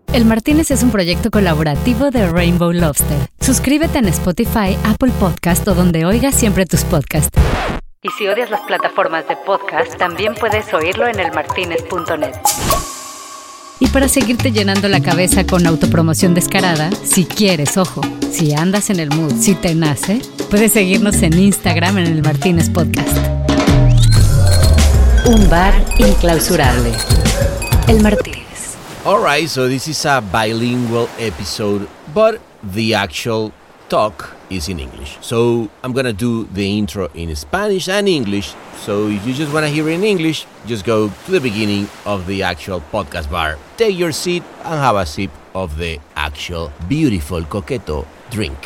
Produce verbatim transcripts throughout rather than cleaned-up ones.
El Martínez es un proyecto colaborativo de Rainbow Lobster. Suscríbete en Spotify, Apple Podcast o donde oigas siempre tus podcasts. Y si odias las plataformas de podcast, también puedes oírlo en el martinez punto net. Y para seguirte llenando la cabeza con autopromoción descarada, si quieres, ojo, si andas en el mood, si te nace, puedes seguirnos en Instagram en el Martínez Podcast. Un bar inclausurable. El Martínez. Alright, so this is a bilingual episode, but the actual talk is in English. So I'm gonna do the intro in Spanish and English. So if you just wanna hear it in English, just go to the beginning of the actual podcast bar, take your seat and have a sip of the actual beautiful coqueto drink.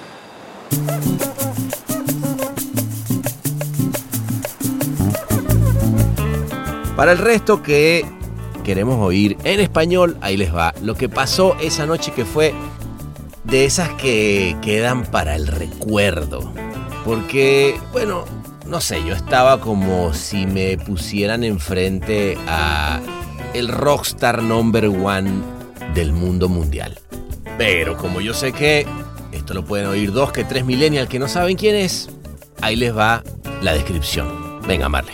Para el resto que queremos oír en español, ahí les va. Lo que pasó esa noche, que fue de esas que quedan para el recuerdo. Porque, bueno, no sé, yo estaba como si me pusieran enfrente a el rockstar number one del mundo mundial. Pero como yo sé que esto lo pueden oír dos que tres millennials que no saben quién es, ahí les va la descripción. Venga, Marley.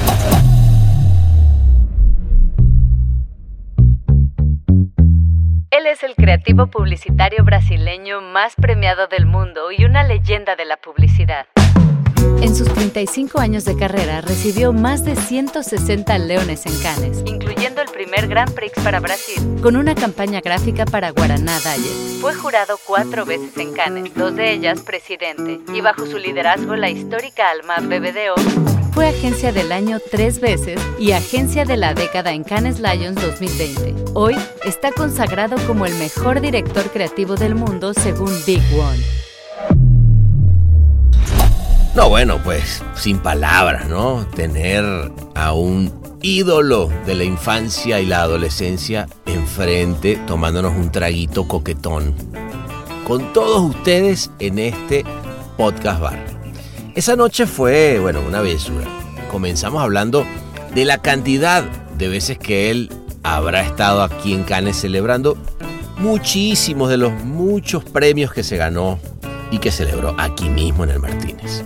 Él es el creativo publicitario brasileño más premiado del mundo y una leyenda de la publicidad. En sus treinta y cinco años de carrera recibió más de ciento sesenta leones en Cannes, incluyendo el primer Grand Prix para Brasil, con una campaña gráfica para Guaraná Diet. Fue jurado cuatro veces en Cannes, dos de ellas presidente, y bajo su liderazgo la histórica Alma B B D O fue agencia del año tres veces y agencia de la década en Cannes Lions dos mil veinte. Hoy está consagrado como el mejor director creativo del mundo según Big One. No, bueno, pues sin palabras, ¿no? Tener a un ídolo de la infancia y la adolescencia enfrente, tomándonos un traguito coquetón con todos ustedes en este podcast bar. Esa noche fue, bueno, una bellezura. Comenzamos hablando de la cantidad de veces que él habrá estado aquí en Cannes celebrando muchísimos de los muchos premios que se ganó y que celebró aquí mismo en el Martínez.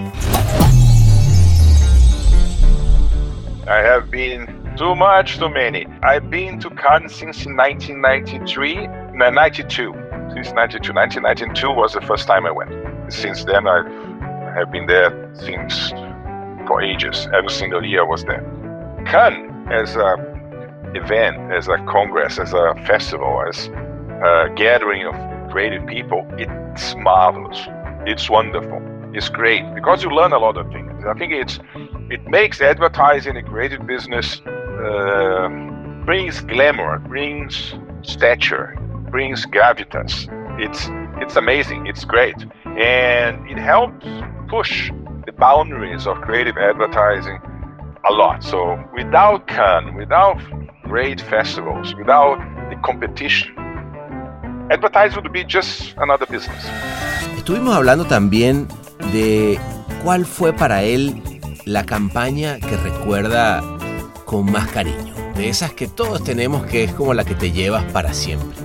I have been too much, too many. I've been to Cannes since nineteen ninety-three, no, ninety-two. Since ninety-two. nineteen ninety-two was the first time I went. Since then, I have been there since for ages. Every single year I was there. Cannes as a event, as a congress, as a festival, as a gathering of creative people, it's marvelous. It's wonderful. It's great because you learn a lot of things. I think it's it makes advertising a creative business, uh, brings glamour, brings stature, brings gravitas. It's it's amazing. It's great, and it helps push the boundaries of creative advertising a lot. So without Cannes, without great festivals, without the competition, advertising would be just another business. Estuvimos hablando también de cuál fue para él la campaña que recuerda con más cariño, de esas que todos tenemos, que es como la que te llevas para siempre.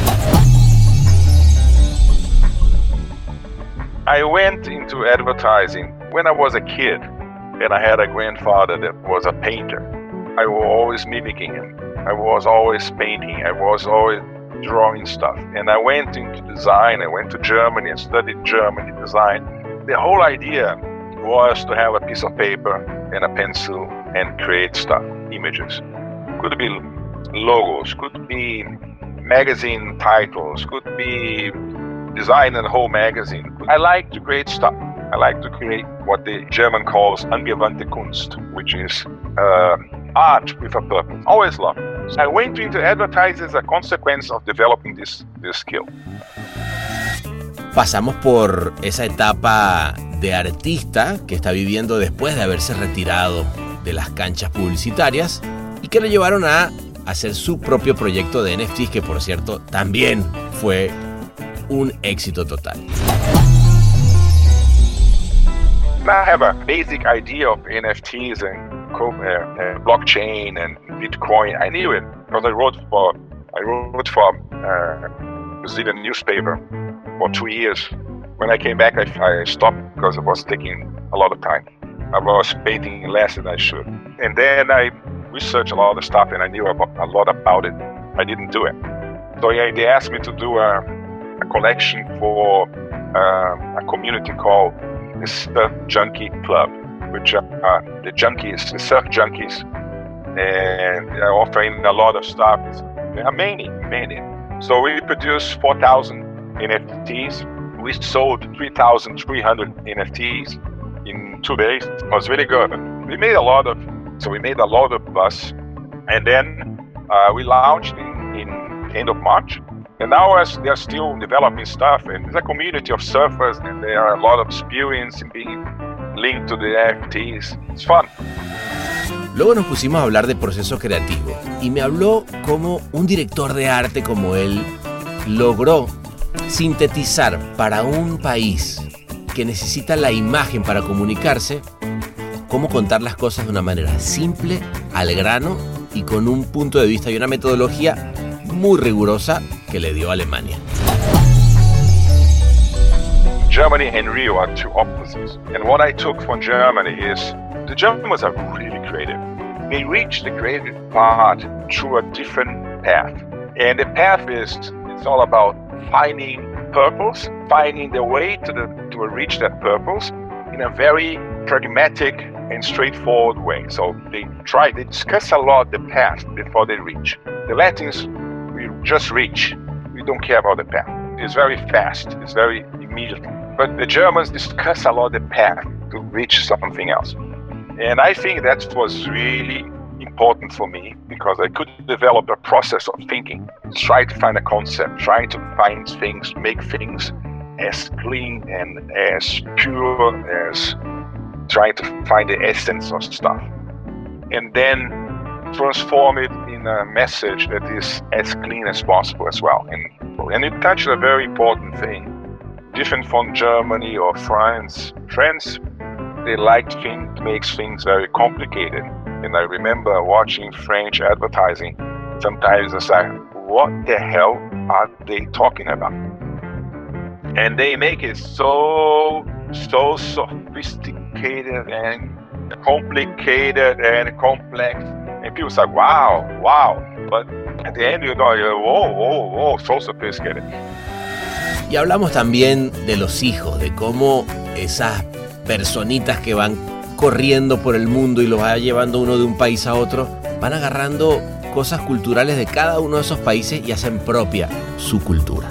I went into advertising when I was a kid, and I had a grandfather that was a painter. I was always mimicking him. I was always painting. I was always drawing stuff. And I went into design. I went to Germany and studied German design. The whole idea was to have a piece of paper and a pencil and create stuff, images. Could be logos, could be magazine titles, could be design a whole magazine. I like to create stuff. I like to create what the German calls angewandte Kunst, which is uh, art with a purpose. Always love it. So I went into advertising as a consequence of developing this, this skill. Pasamos por esa etapa de artista que está viviendo después de haberse retirado de las canchas publicitarias y que lo llevaron a hacer su propio proyecto de N F Ts, que por cierto también fue un éxito total. I have a basic idea of N F Ts and uh, uh, blockchain and Bitcoin. I knew it because I wrote for I wrote for a Brazilian newspaper for two years. When I came back, I, I stopped because it was taking a lot of time. I was painting less than I should. And then I researched a lot of stuff and I knew about, a lot about it. I didn't do it. So yeah, they asked me to do a, a collection for uh, a community called the Surf Junkie Club, which are uh, the junkies, the surf junkies, and they're offering a lot of stuff. There are many, many. So we produced four thousand N F Ts. We sold three thousand three hundred N F Ts in two days. It was really good. We made a lot of, so we made a lot of buzz. And then uh, we launched in, in end of March. And now as they're still developing stuff, and there's a community of surfers, and there are a lot of experience in being linked to the N F Ts. It's fun. Luego nos pusimos a hablar de proceso creativo y me habló cómo un director de arte como él logró sintetizar para un país que necesita la imagen para comunicarse, cómo contar las cosas de una manera simple, al grano y con un punto de vista y una metodología muy rigurosa que le dio a Alemania. Germany and Rio are two opposites. And what I took from Germany is the Germans are really creative. They reach the creative part through a different path. And the path is, it's all about finding purpose, finding the way to, the, to reach that purpose in a very pragmatic and straightforward way. So they try, they discuss a lot the path before they reach. The Latins, we just reach. We don't care about the path. It's very fast, it's very immediate. But the Germans discuss a lot the path to reach something else. And I think that was really important for me because I could develop a process of thinking, try to find a concept, trying to find things, make things as clean and as pure as trying to find the essence of stuff. And then transform it in a message that is as clean as possible as well. And, and it touched a very important thing. Different from Germany or France. France, they like things, makes things very complicated. And I remember watching French advertising. Sometimes I say, what the hell are they talking about? And they make it so, so sophisticated and complicated and complex. And people say, wow, wow. But at the end, you know, you're, whoa, whoa, whoa, so sophisticated. Y hablamos también de los hijos, de cómo esas personitas que van corriendo por el mundo y los va llevando uno de un país a otro, van agarrando cosas culturales de cada uno de esos países y hacen propia su cultura.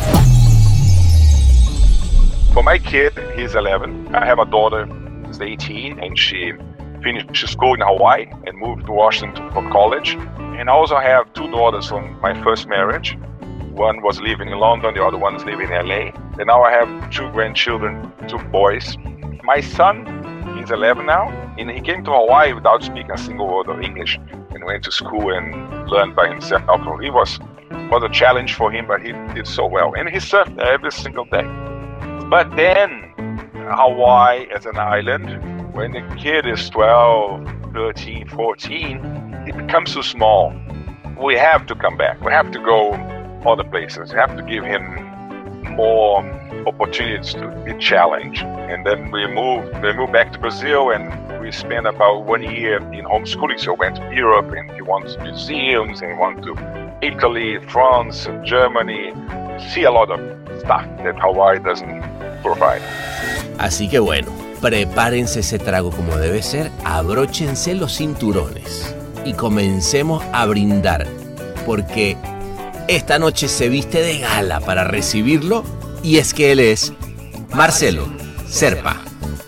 For my kid, he's eleven. I have a daughter who's eighteen, and she finished school in Hawaii and moved to Washington for college. And I also have two daughters from my first marriage. One was living in London, the other one is living in L A. And now I have two grandchildren, two boys. My son, he's eleven now, and he came to Hawaii without speaking a single word of English and went to school and learned by himself. It was, was a challenge for him, but he did so well. And he surfed every single day. But then, Hawaii as an island, when the kid is twelve, thirteen, fourteen, it becomes too small. We have to come back. We have to go other places. We have to give him more opportunities to be challenged. And then we moved, we moved back to Brazil, and we spent about one year in homeschooling. So we went to Europe, and he went to museums, and he went to Italy, France, Germany, see a lot of stuff that Hawaii doesn't provide. Así que bueno, prepárense ese trago como debe ser, abróchense los cinturones y comencemos a brindar, porque esta noche se viste de gala para recibirlo, y es que él es Marcelo Serpa.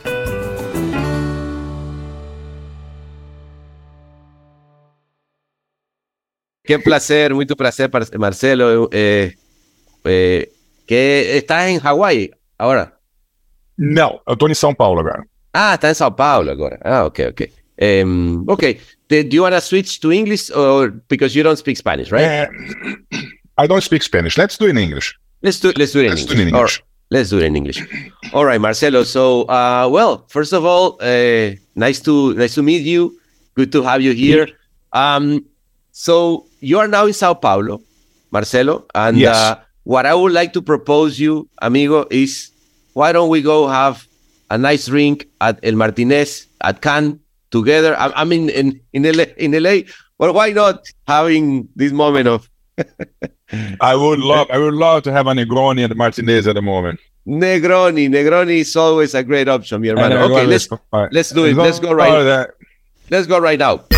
Qué placer, muito prazer, Marcelo. Eh, eh, que estás em Hawaii agora? Não, eu estou em São Paulo agora. Ah, está em São Paulo agora. Ah, ok, ok. Um, okay, do you want to switch to English, or because you don't speak Spanish, right? Uh, I don't speak Spanish. Let's do it in English. Let's do let's do it in let's English. Do it in English. Or, let's do it in English. All right, Marcelo. So, uh, well, first of all, uh, nice to nice to meet you. Good to have you here. Um, so you are now in Sao Paulo, Marcelo. And Yes. uh, what I would like to propose you, amigo, is why don't we go have a nice drink at El Martinez at Cannes together? I, I mean, in in L A, in L A. Well, why not having this moment of I would love, I would love to have a Negroni at Martinez at the moment. Negroni? Negroni is always a great option, mi hermano. Okay, let's right. let's do it. Let's go right. That. Let's go right now.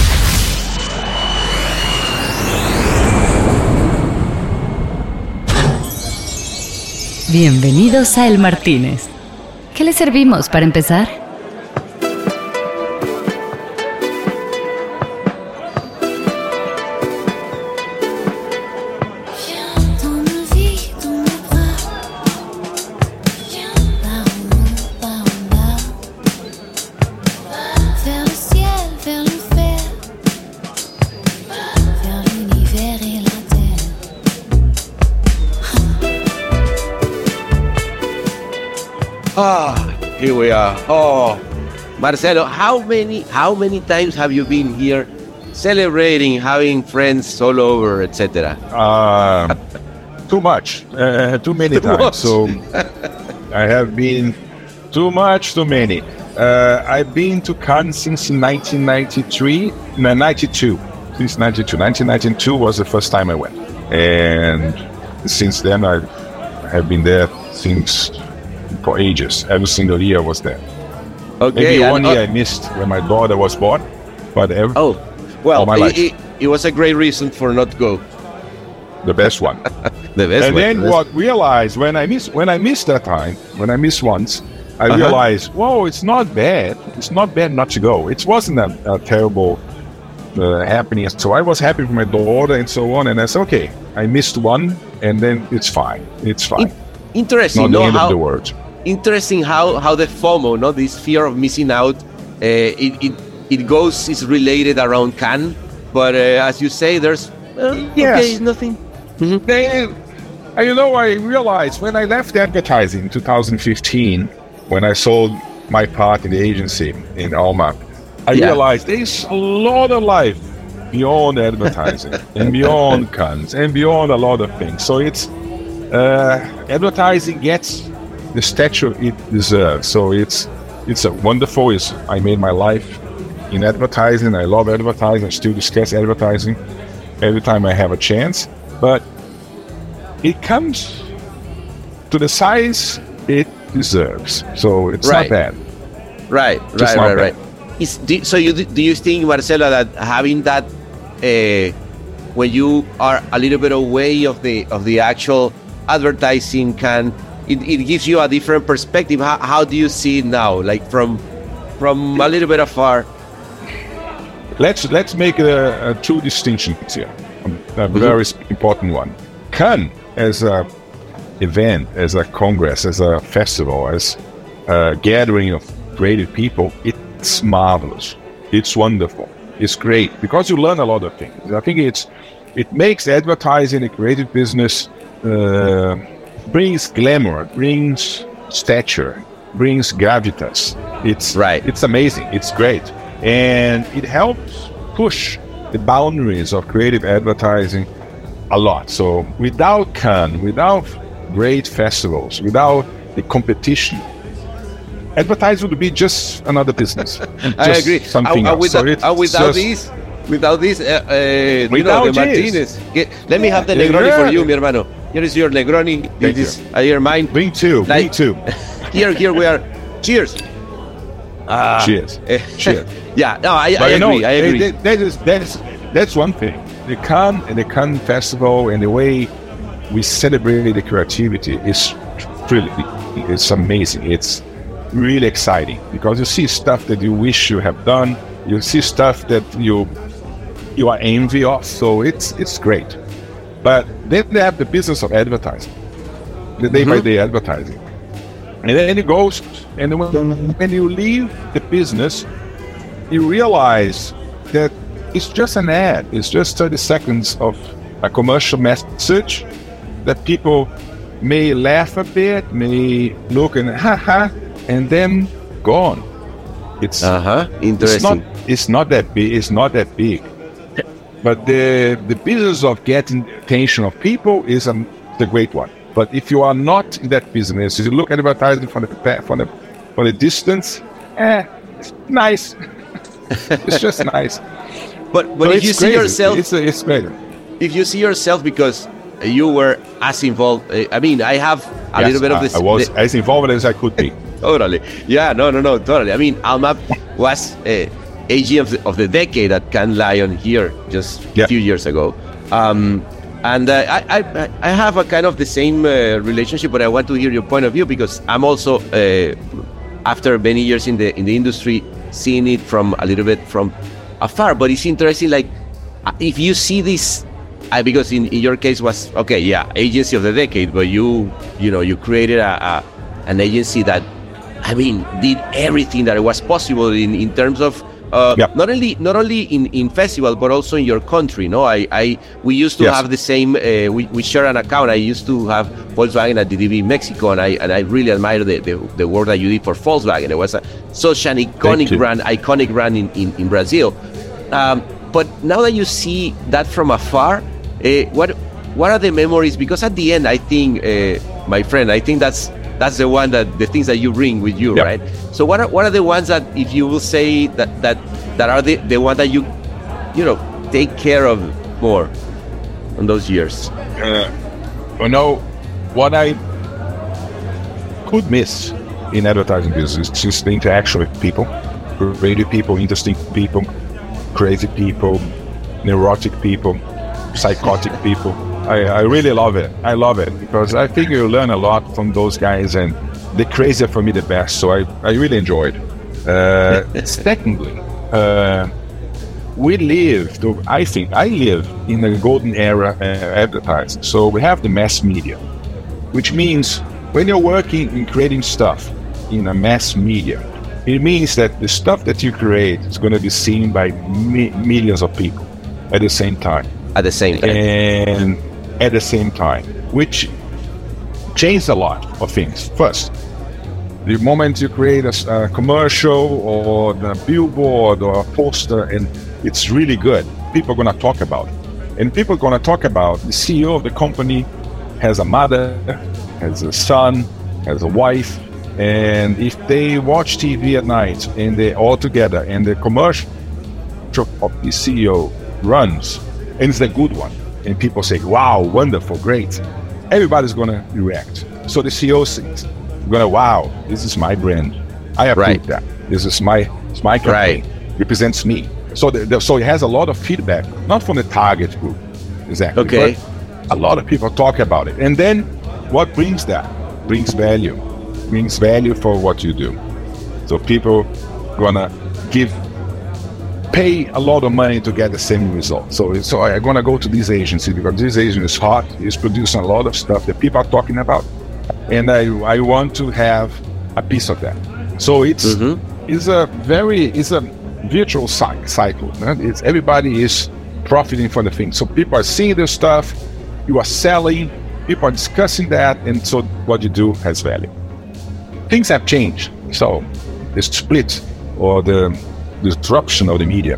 Bienvenidos a El Martínez. ¿Qué le servimos para empezar? Ah, here we are. Oh, Marcelo, how many how many times have you been here celebrating, having friends all over, et cetera? Uh, too much, uh, too many Too times. much. So I have been too much, too many. Uh, I've been to Cannes since nineteen ninety-three, no, ninety-two. Since ninety-two. nineteen ninety-two was the first time I went. And since then, I have been there since for ages. Every single year I was there. Okay. Maybe and- one year I missed when my daughter was born, but every, Oh, well, all my it, life. it, it was a great reason for not to go. the best one. The best and way, then the best- what realized when I miss when I missed that time, when I missed once, I Uh-huh. realized, whoa, it's not bad. It's not bad not to go. It wasn't a, a terrible uh, happening. So I was happy for my daughter and so on. And I said, okay, I missed one, and then it's fine. It's fine. Interesting, Not the no? end How, of the world. interesting how how the FOMO, no, this fear of missing out, uh, it, it it goes is related around Cannes, but uh, as you say, there's uh, Yes. okay, nothing. Then, uh, you know, I realized when I left advertising in two thousand fifteen, when I sold my part in the agency in Alma, I Yeah. realized there's a lot of life beyond advertising and beyond Cannes and beyond a lot of things. So it's uh, advertising gets the stature it deserves. So it's it's a wonderful. It's, I made my life in advertising. I love advertising. I still discuss advertising every time I have a chance. But it comes to the size it deserves. So it's Right. not bad. Right, Just right, not right, bad. right. Is, do, so you do you think, Marcelo, that having that uh, when you are a little bit away of the of the actual advertising can it, it gives you a different perspective? How, how do you see it now, like from from a little bit afar? Let's let's make a, a two distinctions here. A very s- important one. Cannes as a event, as a congress, as a festival, as a gathering of creative people, it's marvelous. It's wonderful. It's great because you learn a lot of things. I think it's it makes advertising a creative business uh, brings glamour, brings stature, brings gravitas. It's Right. It's amazing. It's great, and it helps push the boundaries of creative advertising a lot. So without Cannes, without great festivals, without the competition, advertising would be just another business. I Just agree. Something Uh, uh, else. without, So it's uh, without just- this, without this, uh, uh, you know, Without the this. Martinez. Get, let me have the Yeah. Negroni for you, mi hermano. Here is your Negroni. Thank This is uh, your mine. Bring two. Bring Like- two. Here, here we are. Cheers. Ah, Cheers. eh, Cheers. Yeah, no, I, I But you know, agree. I agree. that- that is that's that's one thing. The Cannes and the Cannes Festival and the way we celebrate the creativity is really it's amazing. It's really exciting because you see stuff that you wish you have done. You see stuff that you you are envy of. So it's it's great. But then they have the business of advertising, the day by day advertising, and then it goes. And then when, when you leave the business, you realize that it's just an ad. It's just thirty seconds of a commercial message that people may laugh a bit, may look and haha, and then gone. It's Uh huh. it's not Interesting. it's not that big. It's not that big. But the the business of getting attention of people is a, the great one. But if you are not in that business, if you look at advertising from the from the from the distance, eh, it's nice. It's just nice. But but So if you it's see crazy. yourself, it's it's great. if you see yourself because you were as involved, uh, I mean, I have a Yes, little bit of I, this. I was the- as involved as I could be. Totally. Yeah, no, no, no, totally. I mean, Almap was uh, A G of the, of the decade at Cannes Lion here just Yeah. a few years ago. Um, and uh, I, I, I have a kind of the same uh, relationship, but I want to hear your point of view because I'm also, uh, after many years in the in the industry, seeing it from a little bit from afar. But it's interesting, like, if you see this, uh, because in, in your case was, okay, yeah, agency of the decade, but you, you know, you created a, a an agency that, I mean, did everything that was possible in, in terms of uh, Yep. not only not only in, in festival but also in your country. No, I, I we used to Yes. have the same. Uh, we, we share an account. I used to have Volkswagen at D D B Mexico, and I and I really admire the, the, the work that you did for Volkswagen. It was a, such an iconic you. brand, iconic brand in in, in Brazil. Um, but now that you see that from afar, uh, what what are the memories? Because at the end, I think, uh, my friend, I think that's that's the one that the things that you bring with you, Yep. right? So what are what are the ones that, if you will say that that that are the the one that you you know take care of more on those years? Uh, you know, what I could miss in advertising business is just the interaction with people, creative people, interesting people, crazy people, neurotic people, psychotic people. I, I really love it. I love it because I think you learn a lot from those guys, and the crazy are for me the best. So I, I really enjoyed. Uh, secondly, uh, we live, I think, I live in the golden era of advertising. So we have the mass media, which means when you're working in creating stuff in a mass media, it means that the stuff that you create is going to be seen by mi- millions of people at the same time. At the same time, And at the same time, which changed a lot of things. First, the moment you create a, a commercial or the billboard or a poster and it's really good, people are going to talk about it. And people are going to talk about the C E O of the company has a mother, has a son, has a wife, and if they watch T V at night and they're all together and the commercial of the C E O runs, and it's a good one, and people say, wow, wonderful, great, everybody's going to react. So the C E O says, going to, wow, this is my brand. I approve Right. that. This is my, it's my company. Right. Represents me. So the, the, so it has a lot of feedback, not from the target group, exactly. Okay. But a lot of people talk about it. And then what brings that? Brings value. Brings value for what you do. So people gonna give, pay a lot of money to get the same result. So, so I'm gonna go to this agency because this agency is hot. It's producing a lot of stuff that people are talking about, and I I want to have a piece of that. So it's Mhm. it's a very it's a virtual cy- cycle. Right? It's everybody is profiting from the thing. So people are seeing their stuff, you are selling, people are discussing that, and so what you do has value. Things have changed. So the split or the disruption of the media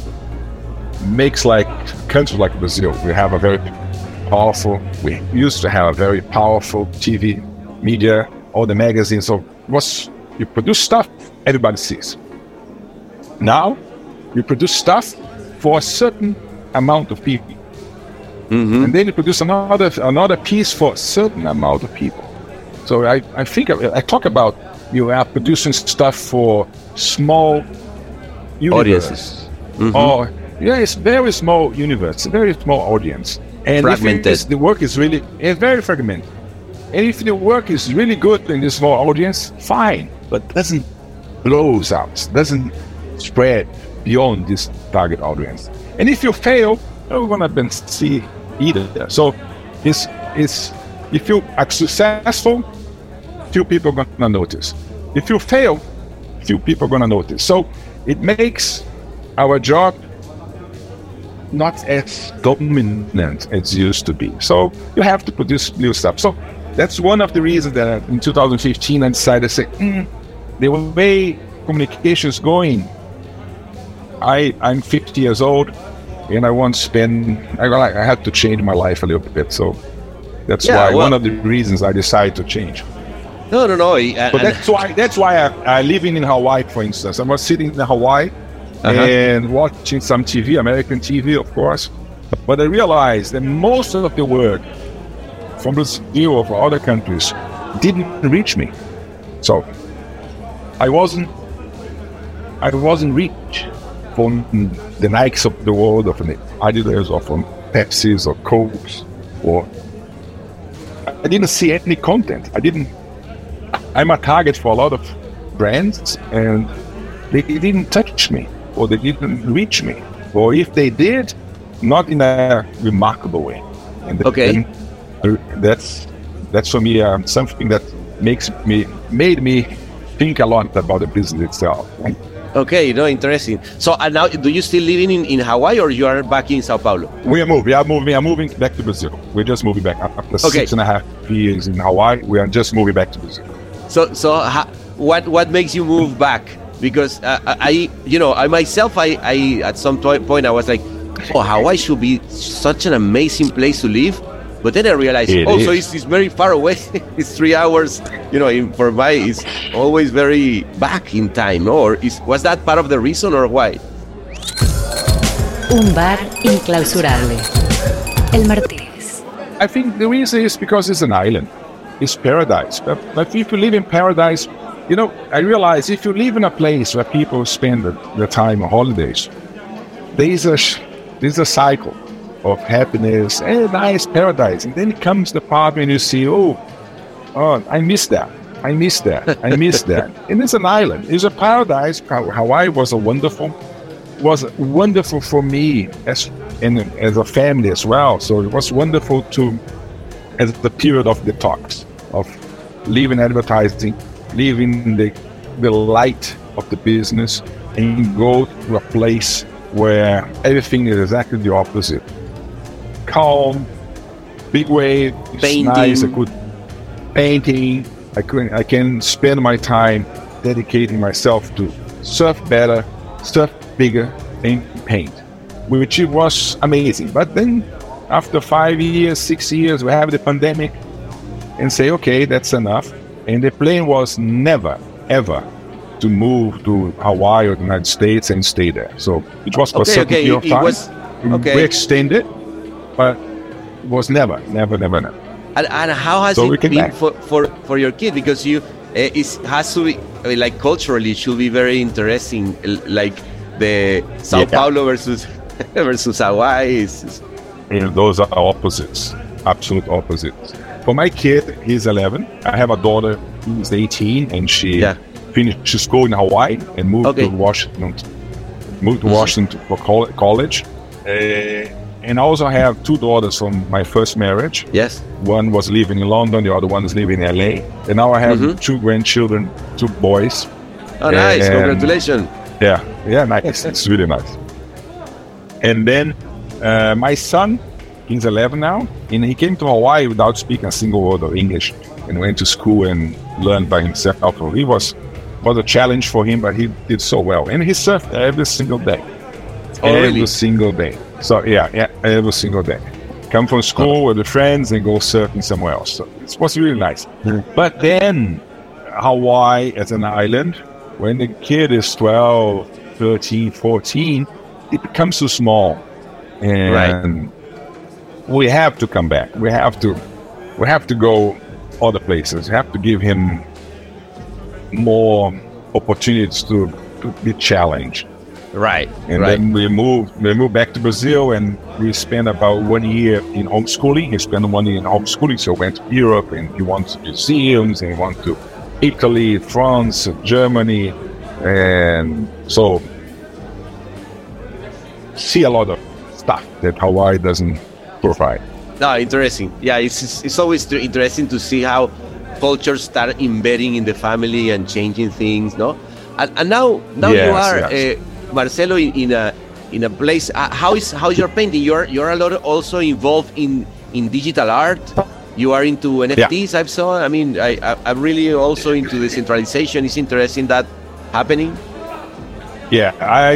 makes like countries like Brazil. We have a very powerful, we used to have a very powerful T V media, all the magazines. So what's, you produce stuff, everybody sees. Now, you produce stuff for a certain amount of people. Mhm. And then you produce another another piece for a certain amount of people. So I, I think I, I talk about you are producing stuff for small universes. Audiences. Mhm. Or yeah, it's very small universe, very small audience. And if Fragmented. it is, the work is really it's very fragmented. And if the work is really good in this small audience, fine, but doesn't blows out, doesn't spread beyond this target audience. And if you fail, you're gonna be see either. So it's it's if you are successful, few people are gonna notice. If you fail, few people are gonna notice. So it makes our job not as dominant as it used to be. So you have to produce new stuff. So that's one of the reasons that in two thousand fifteen I decided to say, mm, the way communication is going, I, I'm fifty years old, and I want to spend. I like. I had to change my life a little bit, so that's Yeah, why well- one of the reasons I decided to change. No, no, no. And, But and- that's why that's why I, I living in Hawaii, for instance. I was sitting in Hawaii Uh-huh. and watching some T V, American T V, of course. But I realized that most of the work from Brazil or from other countries didn't reach me. So I wasn't I wasn't reached from the Nikes of the world, or from the Adidas, or from Pepsi's or Cokes, or I didn't see any content. I didn't. I'm a target for a lot of brands, and they didn't touch me, or they didn't reach me, or if they did, not in a remarkable way. And Okay. then, uh, that's that's for me um, something that makes me made me think a lot about the business itself. Okay, no, interesting. So uh, now, do you still living in, in Hawaii, or you are back in Sao Paulo? We are moving. We are moving. We are moving back to Brazil. We're just moving back after Okay. six and a half years in Hawaii. We are just moving back to Brazil. So, so ha, what what makes you move back? Because uh, I, you know, I myself, I, I at some to- point I was like, oh, Hawaii should be such an amazing place to live. But then I realized, It oh, so is. it's, it's very far away. It's three hours. You know, in, for my, it's always very back in time. No? Or is, was that part of the reason, or why? Un bar inclausurable. El Martínez. I think the reason is because it's an island. It's paradise. But, but if you live in paradise, you know, I realize if you live in a place where people spend the, their time on holidays, there is a sh- there's a cycle of happiness and nice paradise, and then comes the part when you see, oh, oh, I miss that, I miss that, I miss that. And it's an island. It's a paradise. How- Hawaii was a wonderful, was wonderful for me as and as a family as well. So it was wonderful to, as the period of detox, of leaving advertising, leaving the the light of the business, and go to a place where everything is exactly the opposite. Calm, big waves, Painting. nice. I could painting. I could I can spend my time dedicating myself to surf better, surf bigger, and paint, which it was amazing. But then, after five years, six years, we have the pandemic, and say, okay, that's enough. And the plan was never, ever to move to Hawaii or the United States and stay there. So it was for a Okay, certain okay, period of it time. was- okay. We extended, but it was never, never, never, never. And, and how has So we it came been back. for, for, for your kid? Because you, uh, it has to be, I mean, like culturally, it should be very interesting, l- like the Sao Yeah. Paulo versus versus Hawaii. Is, And those are opposites, absolute opposites. For my kid, he's eleven. I have a daughter who's eighteen, and she Yeah. finished school in Hawaii and moved Okay. to Washington. Moved to Washington for col- college. Uh, and I also have two daughters from my first marriage. yes. One was living in London, the other one is living in L A. And now I have Mhm. two grandchildren, two boys. Oh, nice! And- Congratulations. Yeah, yeah, nice. It's really nice. And then uh, my son, he's eleven now, and he came to Hawaii without speaking a single word of English, and went to school and learned by himself. So he was was a challenge for him, but he did so well, and he surfed every single day, Oh, every really? single day. So yeah, yeah, every single day. Come from school with the friends and go surfing somewhere else. So it was really nice. But then Hawaii as an island, when the kid is twelve, thirteen, fourteen, it becomes too small. And we have to come back. We have to we have to go other places. We have to give him more opportunities to, to be challenged. Right. And right. then we moved we moved back to Brazil, and we spent about one year in homeschooling. He spent one year in homeschooling, so went to Europe, and he went to museums, and he went to Italy, France, Germany, and so see a lot of stuff that Hawaii doesn't provide. No, interesting. Yeah, it's it's, it's always tr- interesting to see how cultures start embedding in the family and changing things. No, and, and now now you Yes, are yes. uh, Marcelo in, in a in a place. Uh, how is how's your painting? You're you're a lot also involved in in digital art. You are into N F Ts. Yeah. I've saw. I mean, I, I I'm really also into decentralization. It's interesting that happening. Yeah, I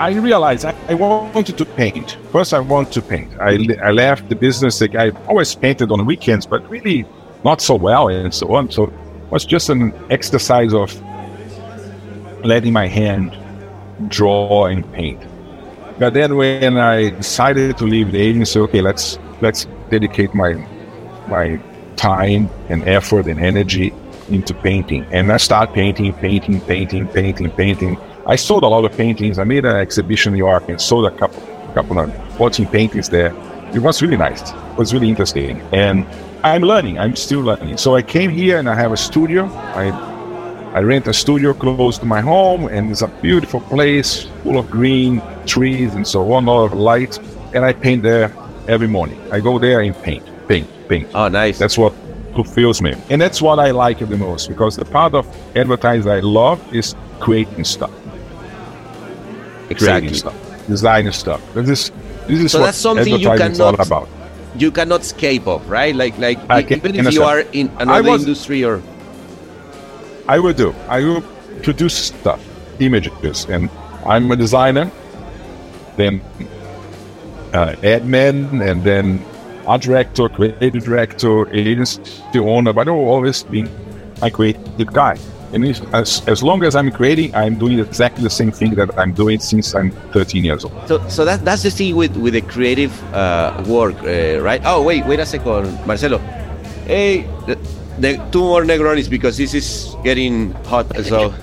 I realized I, I wanted to paint. First, I wanted to paint. I, I left the business. Like, I always painted on weekends, but really not so well and so on. So it was just an exercise of letting my hand draw and paint. But then when I decided to leave the agency, okay, let's let's dedicate my my time and effort and energy into painting. And I started painting, painting, painting, painting, painting. I sold a lot of paintings. I made an exhibition in New York and sold a couple, couple of fourteen paintings there. It was really nice. It was really interesting. And I'm learning. I'm still learning. So I came here and I have a studio. I I rent a studio close to my home, and it's a beautiful place full of green trees and so on, a lot of light. And I paint there every morning. I go there and paint, paint, paint. Oh, nice. That's what fulfills me. And that's what I like the most, because the part of advertising I love is creating stuff. Exactly. Creating stuff, designing stuff. This is, this is so what that's something you advertising is cannot, all about. You cannot escape of, right? Like, like I can, even if you are in another was, industry or... I will do. I will produce stuff, images, and I'm a designer, then uh, admin, and then art director, creative director, agency owner, but I've always been a creative guy. And as, as long as I'm creating, I'm doing exactly the same thing that I'm doing since I'm thirteen years old. So, so that, that's the thing with, with the creative uh, work, uh, right? Oh, wait, wait a second, Marcelo. Hey, the, the two more Negronis because this is getting hot. So,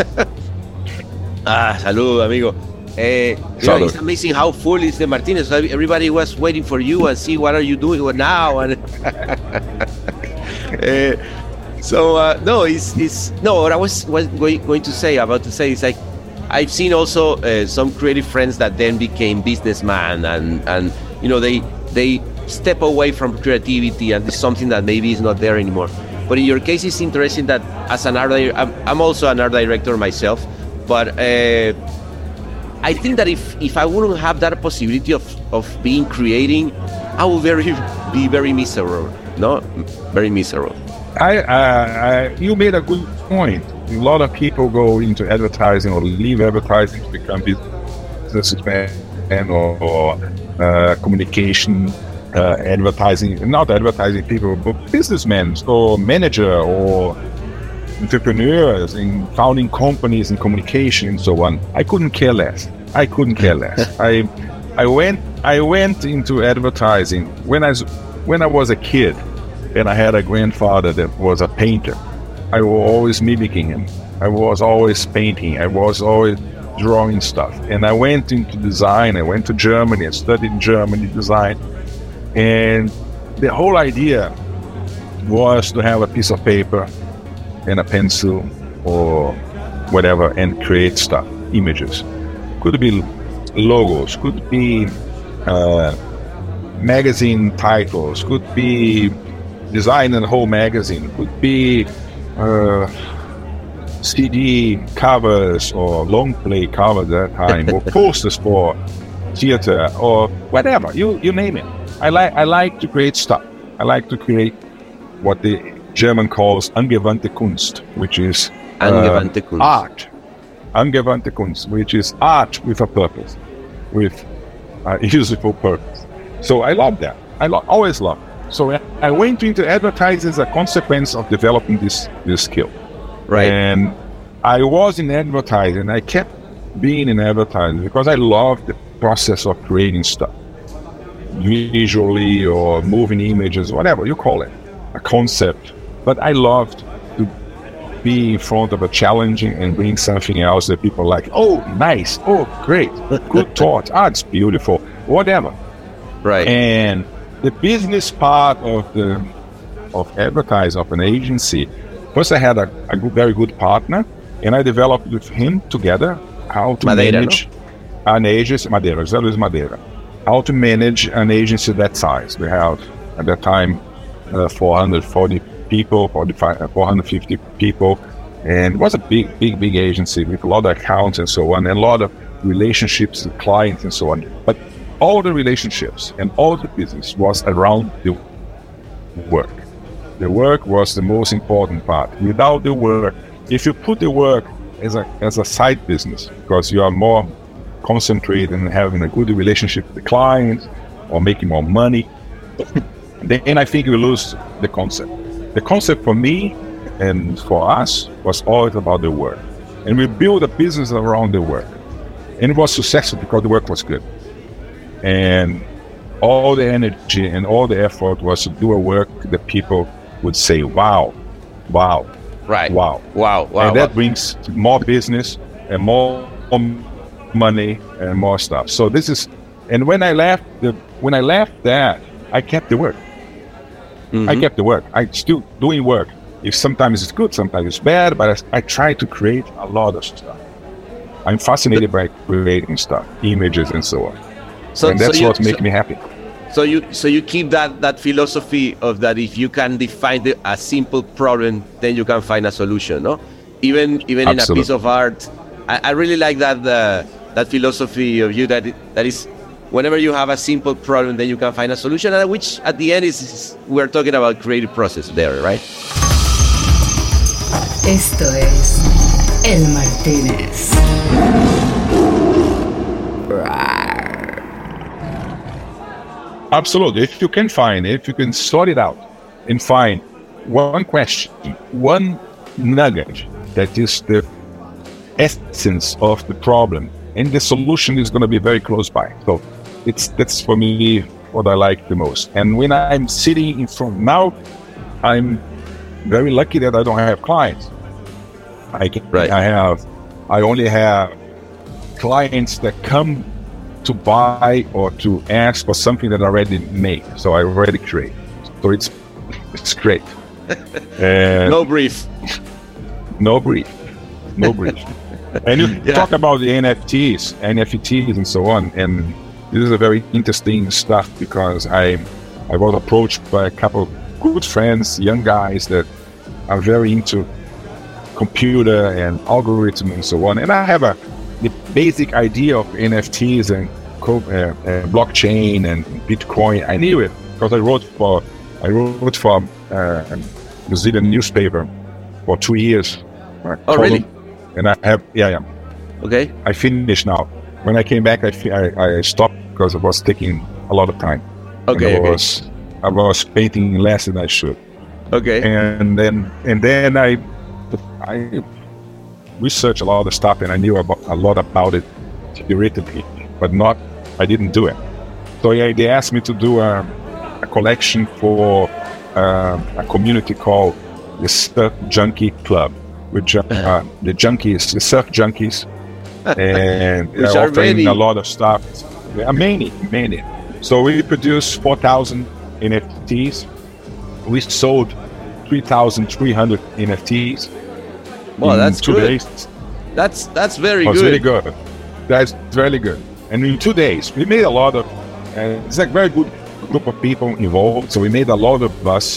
ah, salud, amigo. Uh, you know, it's amazing how full is the Martinez. Everybody was waiting for you and see what are you doing now. And uh, so uh, no, it's it's no. What I was, was going, going to say about to say is like I've seen also uh, some creative friends that then became businessmen and and you know they they step away from creativity and it's something that maybe is not there anymore. But in your case, it's interesting that as an art director, I'm, I'm also an art director myself, but. Uh, I think that if, if I wouldn't have that possibility of, of being creating, I would very be very miserable. No, very miserable. I, uh, I you made a good point. A lot of people go into advertising or leave advertising to become businessmen or, or uh, communication, uh, advertising, not advertising people, but businessmen or manager or entrepreneurs in founding companies in communication and so on. I couldn't care less. I couldn't care less. I I went I went into advertising when I was, when I was a kid, and I had a grandfather that was a painter. I was always mimicking him. I was always painting. I was always drawing stuff. And I went into design. I went to Germany. I studied in Germany design. And the whole idea was to have a piece of paper and a pencil or whatever and create stuff, images. Could be logos, could be uh, magazine titles, could be design a whole magazine, could be uh, C D covers or long play covers at that time, or posters for theater or whatever, you you name it. I like I like to create stuff. I like to create what the German calls Angewandte Kunst, which is uh, Angewandte Kunst. art. Angewandte Kunst, which is art with a purpose, with a useful purpose. So I love that. I lo- always love it. So I went into advertising as a consequence of developing this, this skill. Right. And I was in advertising. I kept being in advertising because I love the process of creating stuff, visually or moving images, whatever you call it, a concept. But I loved to be in front of a challenging and bring something else that people like, oh, nice, oh, great, good thought, ah, it's beautiful, whatever. Right. And the business part of the of advertising of an agency, first I had a, a good, very good partner, and I developed with him together how to Madeira, manage no? an agency, Madeira, José Luis Madeira, how to manage an agency that size. We have, at that time, uh, four hundred forty people, forty-five, four hundred fifty people, and it was a big, big, big agency with a lot of accounts and so on, and a lot of relationships with clients and so on. But all the relationships and all the business was around the work. The work was the most important part. Without the work, if you put the work as a as a side business, because you are more concentrate on having a good relationship with the client or making more money, then I think you lose the concept. The concept for me and for us was always about the work. And we built a business around the work. And it was successful because the work was good. And all the energy and all the effort was to do a work that people would say, wow, wow, right, wow, wow, wow. And that wow. brings more business and more money and more stuff. So this is, and when I left, the, when I left that, I kept the work. Mm-hmm. I kept the work. I still doing work. If sometimes it's good, sometimes it's bad, but I, I try to create a lot of stuff. I'm fascinated by creating stuff, images and so on. So, and that's so you, what makes so, me happy. So you so you keep that, that philosophy of that if you can define the, a simple problem, then you can find a solution, no? Even even in a piece of art, I, I really like that uh, that philosophy of you that that is whenever you have a simple problem, then you can find a solution, and which at the end is, is we're talking about creative process there, right? Esto es El Martínez. Absolutely. If you can find it, if you can sort it out and find one question, one nugget that is the essence of the problem, and the solution is going to be very close by. So it's that's for me what I like the most. And when I'm sitting in front now, I'm very lucky that I don't have clients. I can, right. I have, I only have clients that come to buy or to ask for something that I already made. So I already create. So it's it's great. And no brief. No brief. No brief. And you yeah. talk about the N F Ts, N F Ts and so on. And this is a very interesting stuff because I I was approached by a couple of good friends, young guys that are very into computer and algorithm and so on. And I have a the basic idea of N F Ts and co- uh, uh, blockchain and Bitcoin. I knew it because I wrote for I wrote for uh, a Brazilian newspaper for two years. Oh, column. Really? And I have yeah yeah. Okay. I finished now. When I came back, I I, I stopped because it was taking a lot of time. Okay. And I was okay. I was painting less than I should. Okay. And then and then I I. researched a lot of stuff, and I knew about, a lot about it theoretically, but not, I didn't do it. So yeah, they asked me to do a, a collection for uh, a community called the Surf Junkie Club, which uh, the junkies, the surf junkies, and they're offering many. a lot of stuff. There are many, many. So we produced four thousand N F Ts. We sold three thousand three hundred N F Ts. Well, that's two good. days. That's that's very That's good. really good. That's really good. And in two days, we made a lot of. Uh, it's a very good group of people involved. So we made a lot of us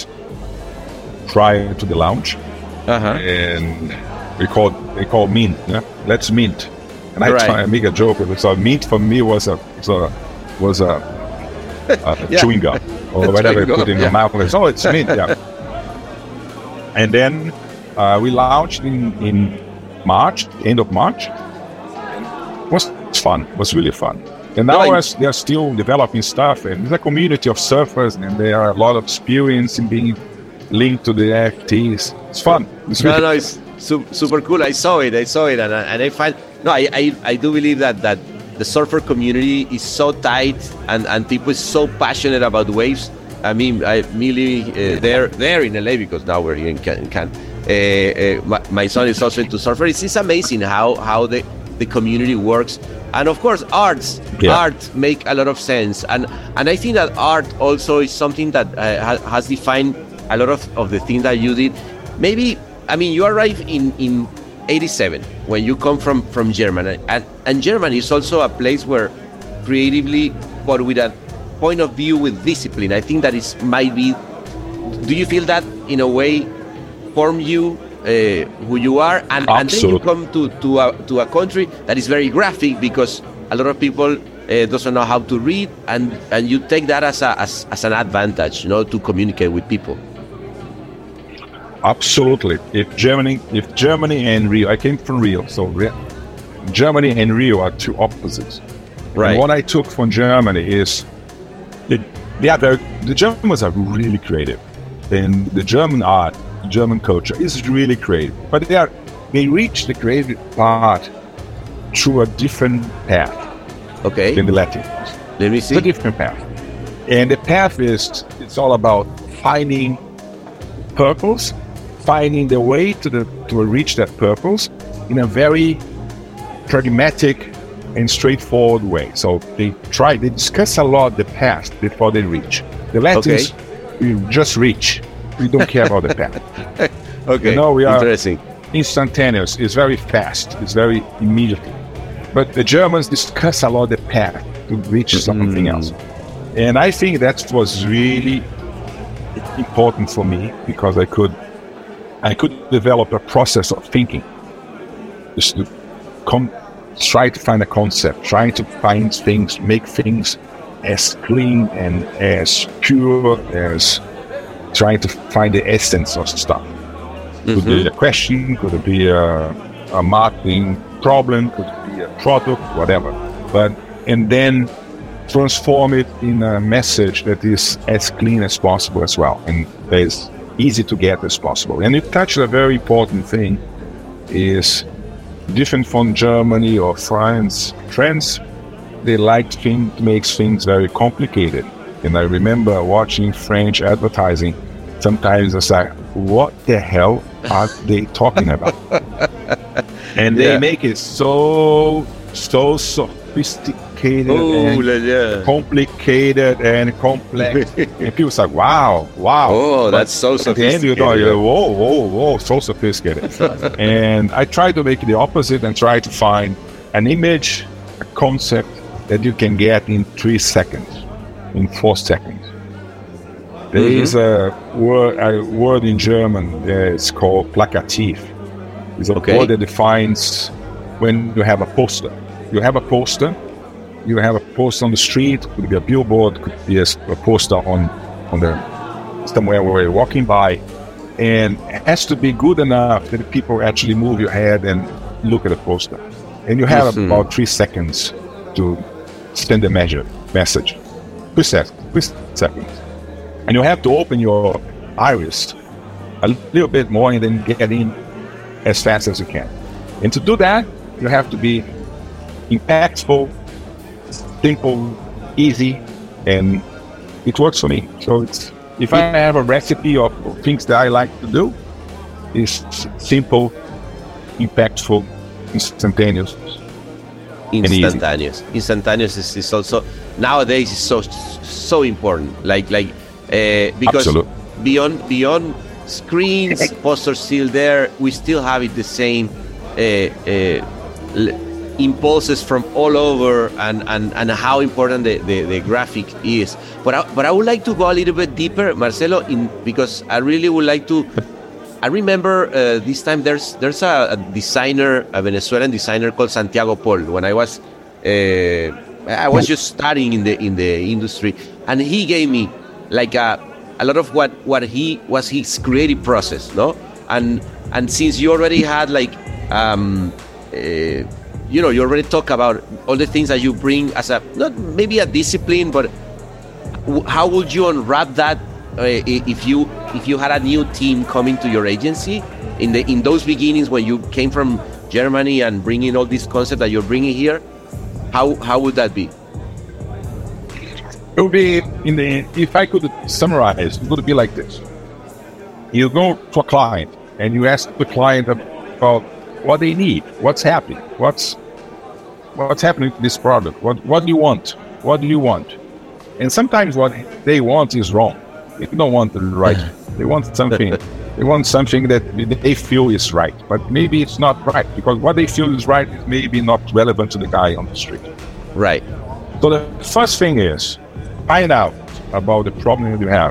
prior to the launch, uh-huh. and we called they called mint. Yeah? Let's mint. And I right. try and make a joke with it. So mint for me was a was a, was a, a yeah. chewing gum or whatever you put in yeah. your mouth. It's, oh, it's mint. Yeah. And then. Uh, we launched in, in March, end of March. It was fun. It was really fun. And now no, they're still developing stuff. And there's a community of surfers, and there are a lot of experience in being linked to the N F Ts. It's fun. It's no, really no, it's su- super cool. I saw it. I saw it, and I, and I find no, I, I I do believe that that the surfer community is so tight, and, and people is so passionate about waves. I mean, I really uh, they're they're in L A because now we're here in Cannes. Can, Uh, uh, my, my son is also into surfer. It's, it's amazing how how the, the community works, and of course, arts yeah. art make a lot of sense. And and I think that art also is something that uh, ha, has defined a lot of, of the things that you did. Maybe I mean you arrived in in eighty-seven when you come from from Germany, and and Germany is also a place where creatively, but with a point of view with discipline. I think that is might be. Do you feel that in a way? Form you uh, who you are, and, and then you come to to a, to a country that is very graphic because a lot of people uh, doesn't know how to read, and, and you take that as a as, as an advantage, you know, to communicate with people. Absolutely. If Germany, if Germany and Rio, I came from Rio, so Germany and Rio are two opposites. Right. And what I took from Germany is that they are very, the Germans are really creative, and the German art, German culture is really creative. But they are they reach the creative part through a different path. Okay. Than the Latins. Let me see. It's a different path, and the path is it's all about finding purpose, finding the way to the to reach that purpose in a very pragmatic and straightforward way. So they try, they discuss a lot the past before they reach. The Latins, okay. we just reach. We don't care about the past. Okay, you know, we are interesting. Instantaneous. It's very fast. It's very immediate. But the Germans discuss a lot the path to reach mm-hmm. something else. And I think that was really important for me because I could, I could develop a process of thinking. Just to come, try to find a concept, trying to find things, make things as clean and as pure as trying to find the essence of stuff. Mm-hmm. Could be a question, could it be a, a marketing problem, could it be a product, whatever. But and then transform it in a message that is as clean as possible as well, and as easy to get as possible. And you touched a very important thing, is different from Germany or France. France, they like things, makes things very complicated. And I remember watching French advertising. Sometimes I was like, what the hell are they talking about? And they yeah. make it so, so sophisticated oh, and yeah. complicated and complex. And people say, wow, wow. Oh, that's so sophisticated. At the end, you know, you're like, whoa, whoa, whoa, so sophisticated. And I try to make it the opposite and try to find an image, a concept that you can get in three seconds, in four seconds. There mm-hmm. is a word, a word in German that is called plakativ. It's a okay. word that defines when you have a poster. You have a poster, you have a poster on the street, could be a billboard, could be a, a poster on, on the somewhere where you're walking by, and it has to be good enough that people actually move your head and look at the poster. And you have mm-hmm. about three seconds to send a measure, message. Three seconds. Three seconds. And you have to open your iris a little bit more and then get in as fast as you can. And to do that, you have to be impactful, simple, easy, and it works for me. So it's if I have a recipe of things that I like to do, it's simple, impactful, instantaneous. Instantaneous. Instantaneous is, is also nowadays is so so important. Like like uh, because Absolute. beyond beyond screens, posters still there. We still have it the same uh, uh, l- impulses from all over, and, and, and how important the, the, the graphic is. But I, but I would like to go a little bit deeper, Marcelo, in because I really would like to. I remember uh, this time there's there's a, a designer, a Venezuelan designer called Santiago Paul. When I was uh, I was just starting in the in the industry, and he gave me like a a lot of what, what he was his creative process, no? And and since you already had like um, uh, you know, you already talk about all the things that you bring as a not maybe a discipline, but w- how would you unwrap that? Uh, if you if you had a new team coming to your agency in the in those beginnings when you came from Germany and bringing all these concepts that you're bringing here, how how would that be? It would be in the if I could summarize, it would be like this: you go to a client and you ask the client about what they need, what's happening, what's what's happening to this product, what what do you want, what do you want, and sometimes what they want is wrong. They don't want the right. They want something. They want something that they feel is right, but maybe it's not right because what they feel is right is maybe not relevant to the guy on the street. Right. So the first thing is find out about the problem that you have.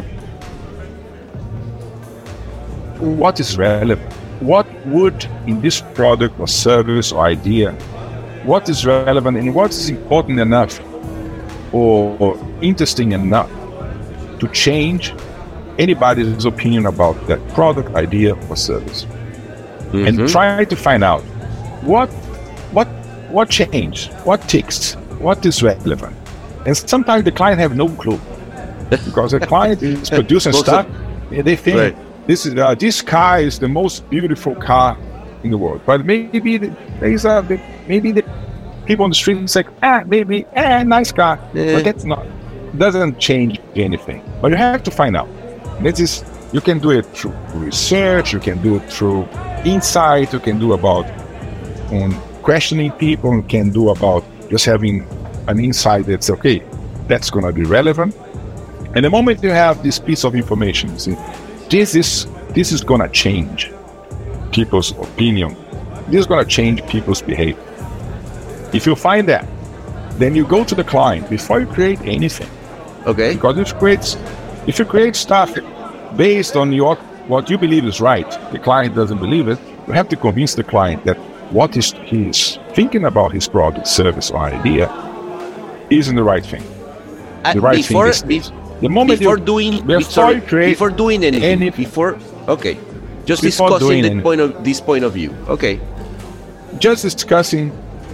What is relevant? What would in this product or service or idea? What is relevant and what is important enough or, or interesting enough to change anybody's opinion about that product, idea, or service, mm-hmm. and try to find out what what what changed? What ticks? What is relevant? And sometimes the client have no clue because the client is producing stuff. And they think right. this is uh, this car is the most beautiful car in the world, but maybe the, there's a the, maybe the people on the street say, ah, maybe ah, nice car, yeah. but that's not doesn't change anything. But you have to find out. This is you can do it through research, you can do it through insight, you can do about um, questioning people, you can do about just having an insight that's okay, that's going to be relevant. And the moment you have this piece of information, you see, this is this is going to change people's opinion. This is going to change people's behavior. If you find that, then you go to the client before you create anything. Okay. Because if you create, if you create stuff based on your what you believe is right, the client doesn't believe it, you have to convince the client that what is he's thinking about his product, service, or idea isn't the right thing. Uh, the right before, thing is be, the moment before you, doing before, sorry, you create before doing anything, any, before okay, just before discussing the anything. point of this point of view. Okay, just discussing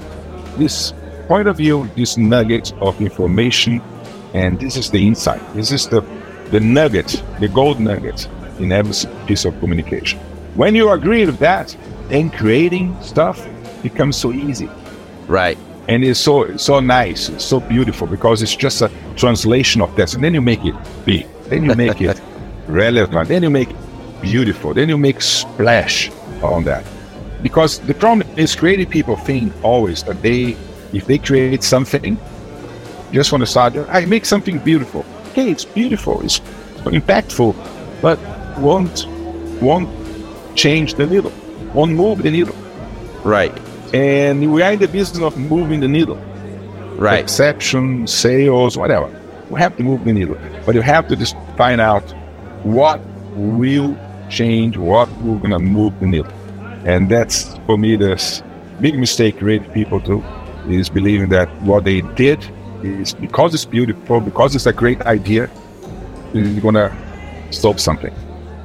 this point of view, this nugget of information, and this is the insight. This is the the nugget, the gold nugget in every piece of communication. When you agree with that, then creating stuff becomes so easy. Right. And it's so so nice, it's so beautiful because it's just a translation of that. And then you make it big, then you make it relevant, then you make it beautiful, then you make splash on that. Because the problem is creative people think always that they, if they create something, just want to start, I make something beautiful. Okay, it's beautiful, it's impactful, but won't won't change the needle, won't move the needle. Right. And we are in the business of moving the needle. Right. Perception, sales, whatever. We have to move the needle. But you have to just find out what will change, what we're going to move the needle. And that's, for me, the big mistake creative people do, is believing that what they did is because it's beautiful, because it's a great idea, is going to solve something.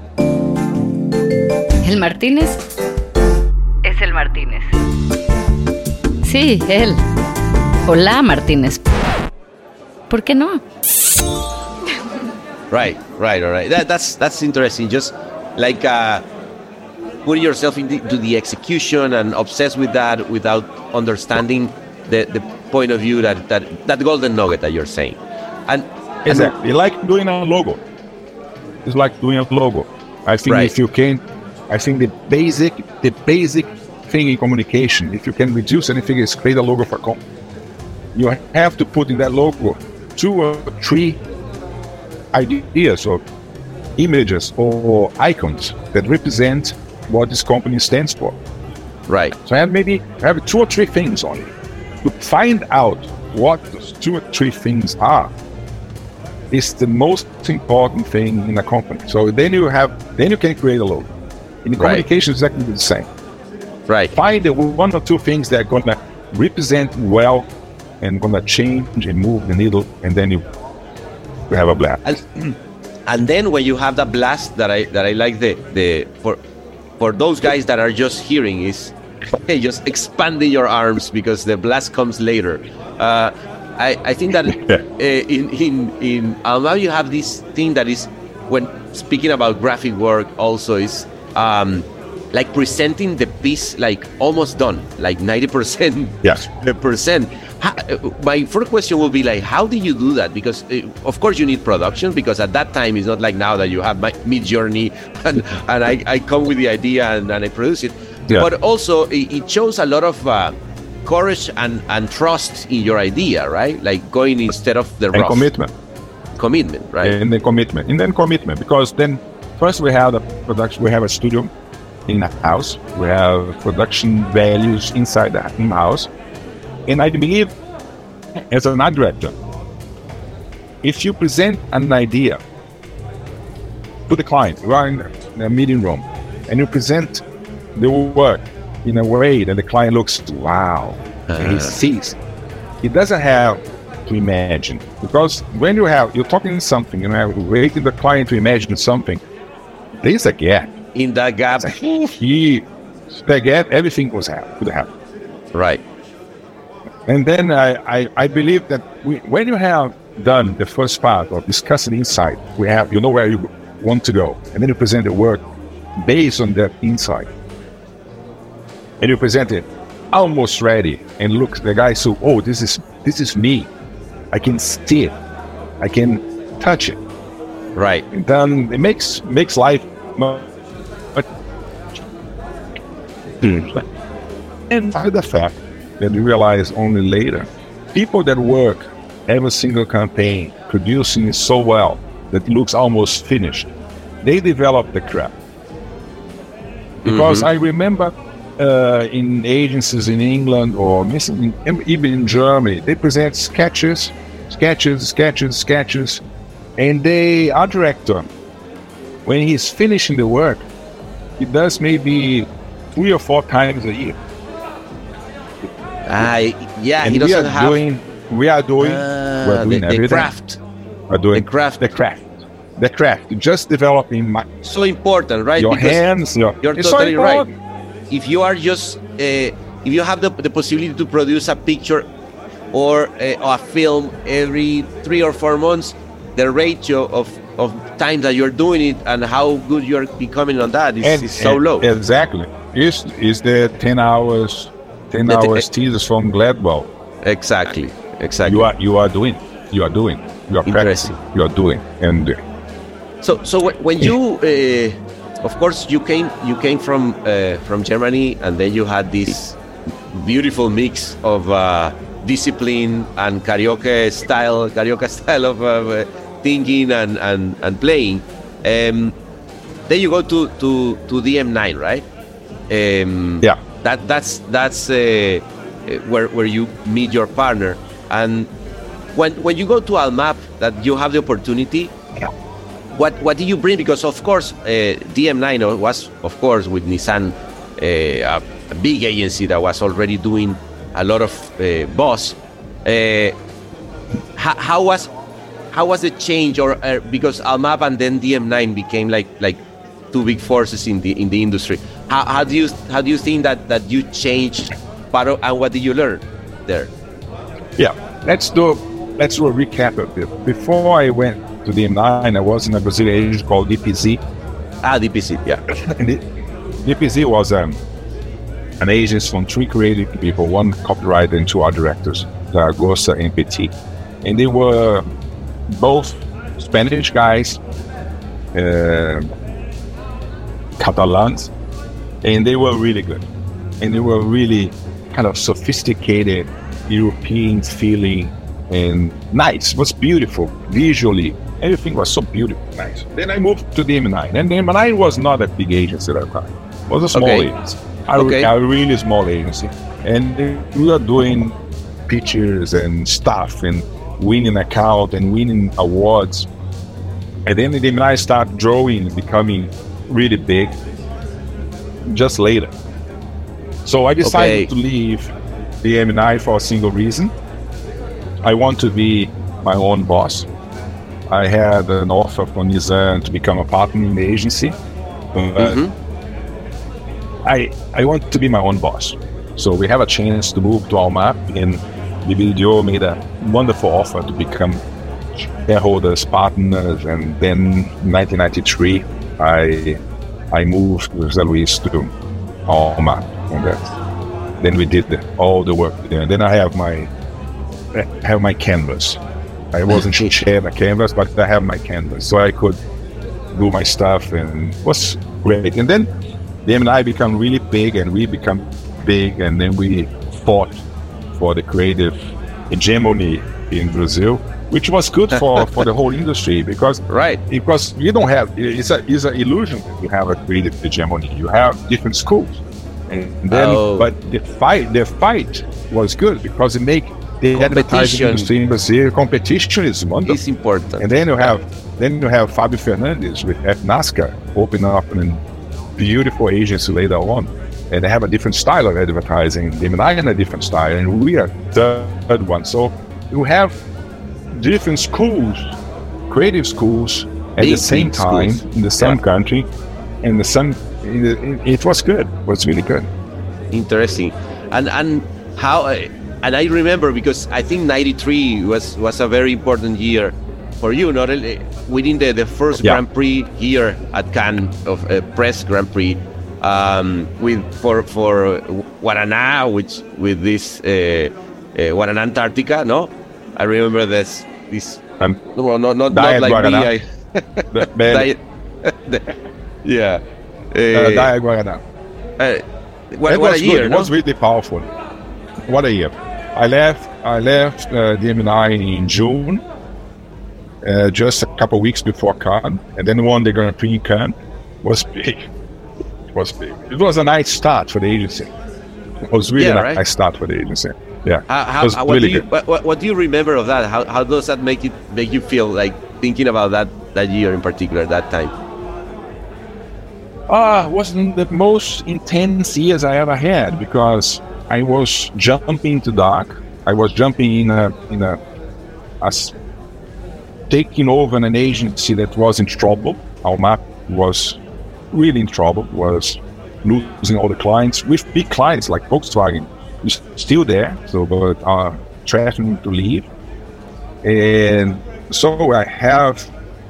El Martínez es el Martínez. Sí, él. Hola, Martínez. ¿Por qué no? Right, right, all right. That, that's that's interesting. Just like uh, putting yourself into the, the execution and obsessed with that without understanding the, the point of view that, that that golden nugget that you're saying. And exactly, and, like doing a logo. It's like doing a logo. I think right. if you can, I think the basic, the basic thing in communication, if you can reduce anything, is create a logo for a company. You have to put in that logo two or three ideas or images or icons that represent what this company stands for. Right. So I have maybe I have two or three things on it. To find out what those two or three things are is the most important thing in a company. So then you have, then you can create a logo. In the right. communication, it's exactly the same. Right. Find the one or two things that are going to represent well and going to change and move the needle, and then you have a blast. And, and then when you have that blast, that I that I like the the for for those guys that are just hearing is, hey, just expanding your arms because the blast comes later. Uh, I I think that uh, in in in Almao you have this thing that is, when speaking about graphic work, also is. Um, like presenting the piece like almost done, like ninety percent. Yes. Percent. How, my first question will be like, how do you do that? Because uh, of course you need production, because at that time it's not like now that you have my Midjourney and, and I, I come with the idea and, and I produce it. Yeah. But also it, it shows a lot of uh, courage and, and trust in your idea, right? Like going instead of the and rough. commitment. Commitment, right? And then commitment. And then commitment, because then first we have the production, we have a studio in a house, we have production values inside the house. And I believe, as an art director, if you present an idea to the client, you are in a meeting room, and you present the work in a way that the client looks, wow, uh-huh. he sees. He doesn't have to imagine, because when you have, you're talking something, you know, waiting the client to imagine something, there's a gap. In that gap, he, the gap, everything was happen, could happen. Right. And then I, I, I believe that we, when you have done the first part of discussing insight, we have, you know where you want to go, and then you present the work based on that insight. And you present it almost ready, and look, the guy says, oh, this is this is me. I can see it. I can touch it. Right. And then it makes makes life much. And the fact that you realize only later, people that work every single campaign, producing it so well that it looks almost finished, they develop the craft. Because mm-hmm. I remember uh, in agencies in England or even in Germany, they present sketches, sketches, sketches, sketches, and they, our director, when he's finishing the work, he does maybe three or four times a year. Uh, yeah, and he doesn't we are have... Doing, we are doing, uh, we're doing the, everything. The craft. We're doing the craft. The craft. The craft. Just developing my... So important, right? Your because hands. Your, you're totally so right. If you are just... Uh, if you have the, the possibility to produce a picture or a, or a film every three or four months, the ratio of, of time that you're doing it and how good you're becoming on that is, and, is so and low. Exactly. Is is the ten hours... Ten the, hours teasers from Gladwell. Exactly, exactly. You are you are doing, you are doing, you are practicing, you are doing, and uh, so so when you, uh, of course, you came you came from uh, from Germany, and then you had this beautiful mix of uh, discipline and karaoke style, karaoke style of uh, thinking and and and playing. Um, then you go to to to D M nine, right? Um, yeah. That that's that's uh, where where you meet your partner, and when when you go to Almap, that you have the opportunity. Yeah. What what do you bring? Because of course, uh, D M nine was of course with Nissan, uh, a, a big agency that was already doing a lot of uh, boss. Uh, how, how was how was the change, or uh, because Almap and then D M nine became like like two big forces in the in the industry. How, how do you how do you think that, that you changed part of, and what did you learn there? Yeah, let's do let's do a recap of it. Before I went to D M nine, I was in a Brazilian agency called D P Z. Ah, D P Z, yeah. And it, D P Z was um, an agency from three creative people, one copywriter and two art directors, Zaragoza and Petit, and they were both Spanish guys, uh, Catalans. And they were really good. And they were really kind of sophisticated, European feeling, and nice. It was beautiful, visually. Everything was so beautiful, nice. Then I moved to D M nine. And D M nine was not a big agency at that time. It was a small okay. agency. A, okay. a really small agency. And we were doing pictures and stuff and winning account and winning awards. And then D M nine started drawing, becoming really big. Just later. So I decided okay. to leave D M nine for a single reason. I want to be my own boss. I had an offer from Nissan to become a partner in the agency. But mm-hmm. I I want to be my own boss. So we have a chance to move to Almap, and B B D O made a wonderful offer to become shareholders, partners, and then in nineteen ninety-three I I moved with José Luis to Almap, and that. Then we did the, all the work there. And then I have my I have my canvas. I wasn't sharing a canvas, but I have my canvas, so I could do my stuff, and it was great. And then D M nine become really big, and we become big, and then we fought for the creative hegemony in Brazil, which was good for, for the whole industry, because right because you don't have it's a it's an illusion that you have a creative hegemony. You have different schools, and then oh. but the fight the fight was good because it make the advertising industry in Brazil competition is wonderful. It's important. And then you have then you have Fabio Fernandes with F NASCAR open up a beautiful agency later on. And they have a different style of advertising. D M nine and a different style, and we are third one. So you have different schools, creative schools, at big, the same time schools. In the same yeah. country, and the same. It was good. It was really good. Interesting. And and how uh, and I remember because I think ninety-three was was a very important year for you, not only winning the, the first yeah. Grand Prix here at Cannes of uh, Press Grand Prix um, with for for Guaraná, which with this uh, uh, Guaraná Antarctica. No, I remember this this. Um, well, not not, not like Guaraná. me. I, the, diet, yeah. Uh, uh, Diet Guaraná. Uh, what, it what was a year! Good. No? It was really powerful. What a year! I left. I left uh, D M nine in June. Uh, just a couple of weeks before Cannes, and then won the Grand Prix in Cannes. Was big. It was big. It was a nice start for the agency. It was really yeah, a right? nice start for the agency. Yeah. How, how, it was how, what really do you, good. What, what do you remember of that? How, how does that make it make you feel like thinking about that that year in particular, that time? Ah, uh, it wasn't the most intense years I ever had because I was jumping into dark. I was jumping in a in a. a taking over an agency that was in trouble. Almap was really in trouble, was losing all the clients, with big clients like Volkswagen, is still there, so but are threatening to leave. And so I have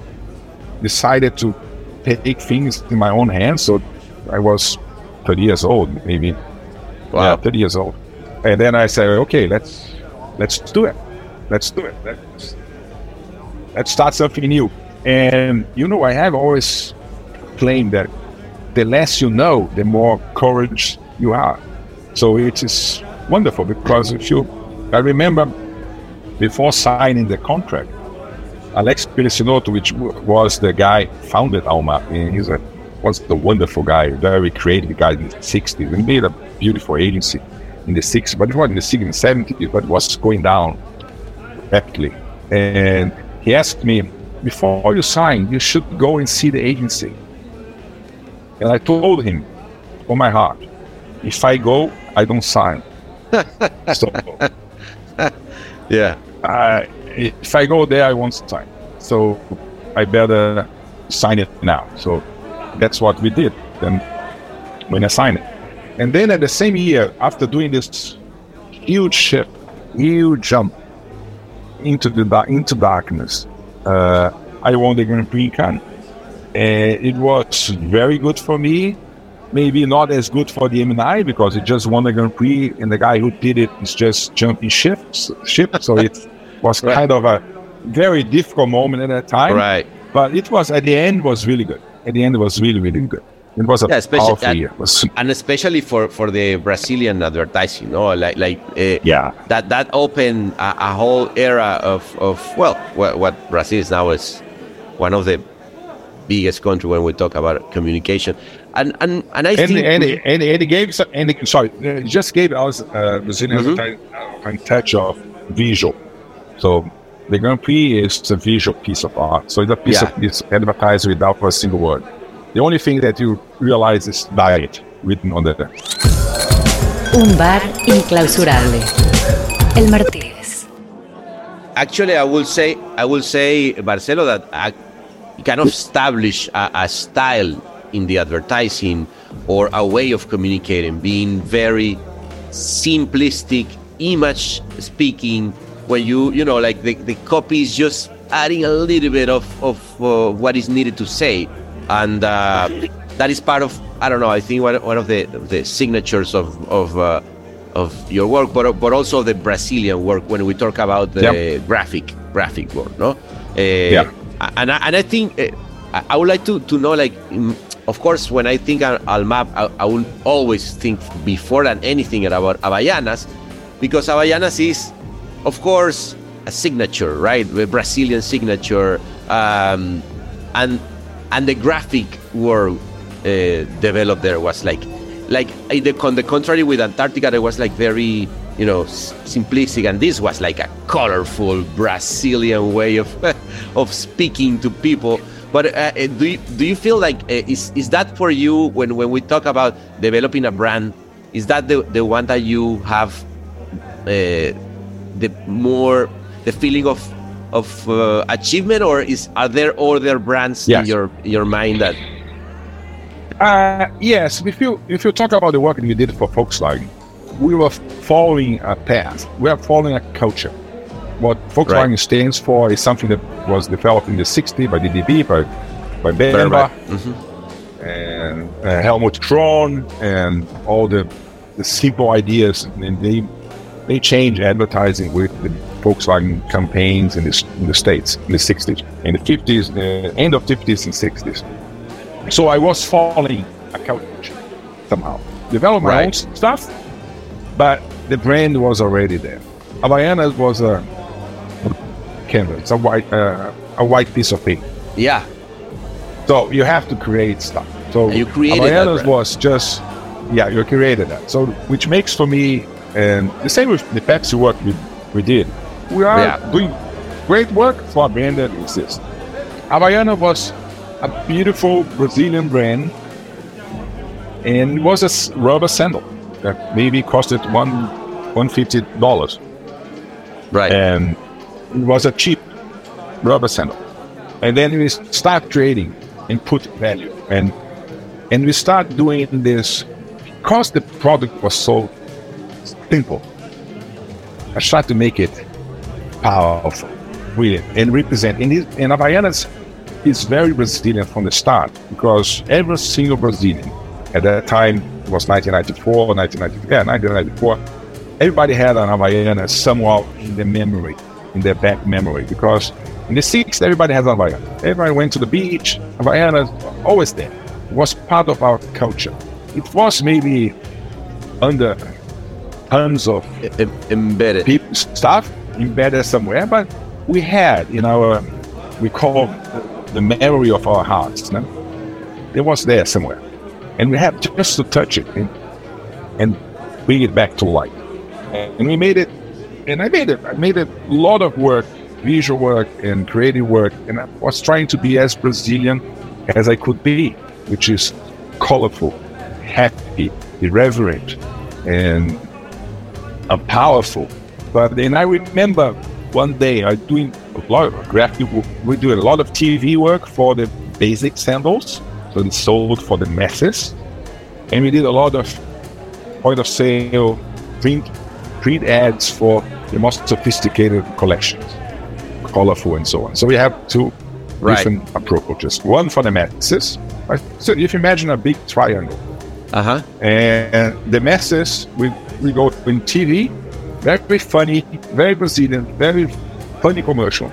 decided to take things in my own hands. So I was thirty years old, maybe. Wow. Yeah, thirty years old. And then I said, okay, let's let's do it. Let's do it. Let's Let's start something new. And, you know, I have always claimed that the less you know, the more courage you have. So it is wonderful because if you, I remember before signing the contract, Alex Pelicinotto, which was the guy founded Almap, and he's a, was the wonderful guy, very creative guy in the sixties, and made a beautiful agency in the sixties, but it was in the sixties and seventies, but it was going down rapidly. And he asked me, before you sign, you should go and see the agency. And I told him, from my heart, if I go, I don't sign. So, yeah. I, if I go there, I won't sign. So I better sign it now. So that's what we did. Then when I signed it. And then at the same year, after doing this huge shift, huge jump, into the into darkness, uh, I won the Grand Prix in Cannes. Uh, it was very good for me. Maybe not as good for the M N I because it just won the Grand Prix, and the guy who did it is just jumping ships, ship. So it was right. kind of a very difficult moment at that time. Right. But it was at the end was really good. At the end, it was really really good. It was a yeah, powerful and, year. Was, and especially for, for the Brazilian advertising, no, like like uh, yeah, that that opened a, a whole era of, of well, what, what Brazil is now is one of the biggest country when we talk about communication, and and and I and, think and, we, and, and it gave some, and it, sorry, it just gave us uh, Brazilian mm-hmm. advertising a touch of visual. So the Grand Prix is a visual piece of art. So it's a piece yeah. of it's advertised without a single word. The only thing that you realize is diet written on the. Un bar inclausurable. El Martínez. Actually, I will say, I will say, Marcelo, that I kind of establish a, a style in the advertising or a way of communicating, being very simplistic, image speaking. When you, you know, like the, the copy is just adding a little bit of of uh, what is needed to say. And uh, that is part of, I don't know, I think one, one of the the signatures of of uh, of your work, but but also the Brazilian work when we talk about the yep. graphic graphic work, no? Uh, yeah. And I, and I think uh, I would like to to know, like, of course, when I think Almap, I, I will always think before than anything about Havaianas, because Havaianas is, of course, a signature, right? The Brazilian signature, um, and. And the graphic world uh, developed there was like, like the, on the contrary with Antarctica, it was like very, you know, s- simplistic, and this was like a colorful Brazilian way of of speaking to people. But uh, do you, do you feel like uh, is is that for you when, when we talk about developing a brand? Is that the the one that you have uh, the more the feeling of of uh, achievement, or is are there other brands yes. in your your mind that uh yes if you if you talk about the work that we did for Volkswagen, we were following a path. We are following a culture. What Volkswagen right. stands for is something that was developed in the sixties by D D B, by, by Bernbach, mm-hmm. and uh, Helmut Kron, and all the, the simple ideas. And they they changed advertising with the Volkswagen campaigns in the, in the States in the sixties, in the fifties, uh, end of fifties and sixties. So I was following a culture somehow. Developed my right. own stuff, but the brand was already there. Havaianas was a canvas, a white, uh, a white piece of paper. Yeah. So you have to create stuff. So and you created Havaianas that was just, yeah, you created that. So which makes for me, and the same with the Pepsi work we, we did. We are yeah. doing great work for a brand that exists. Havaiana was a beautiful Brazilian brand, and it was a rubber sandal that maybe costed one one fifty dollars. Right. And it was a cheap rubber sandal. And then we start trading and put value, and and we start doing this because the product was so simple. I tried to make it powerful, really, and represent. And, it, and Havaianas is very Brazilian from the start, because every single Brazilian at that time, it was nineteen ninety-four, nineteen ninety-four, yeah, nineteen ninety-four, everybody had an Havaiana somewhere in their memory, in their back memory, because in the sixties, everybody has an Havaiana. Everybody went to the beach, Havaianas always there. It was part of our culture. It was maybe under tons of em- embedded people, stuff embedded somewhere, but we had in our, we call the memory of our hearts, no? It was there somewhere. And we had just to touch it and, and bring it back to life. And we made it, and I made it, I made a lot of work, visual work and creative work, and I was trying to be as Brazilian as I could be, which is colorful, happy, irreverent, and uh, powerful. But then I remember one day I doing a lot of graphic, we do a lot of T V work for the basic sandals, so it's sold for the masses, and we did a lot of point of sale print print ads for the most sophisticated collections, colorful and so on. So we have two right. different approaches. One for the masses. Right? So if you imagine a big triangle, uh-huh. and the masses, we we go in T V, very funny, very Brazilian, very funny commercial,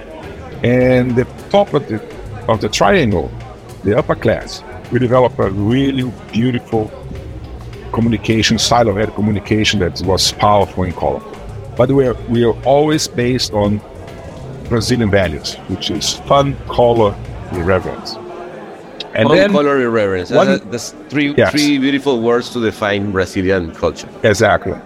and the top of the of the triangle, the upper class, we develop a really beautiful communication, style of ad communication that was powerful and colorful. But we are, we are always based on Brazilian values, which is fun, color, irreverence. And fun, then, color, irreverence. One, that's, that's three, yes. three beautiful words to define Brazilian culture. Exactly.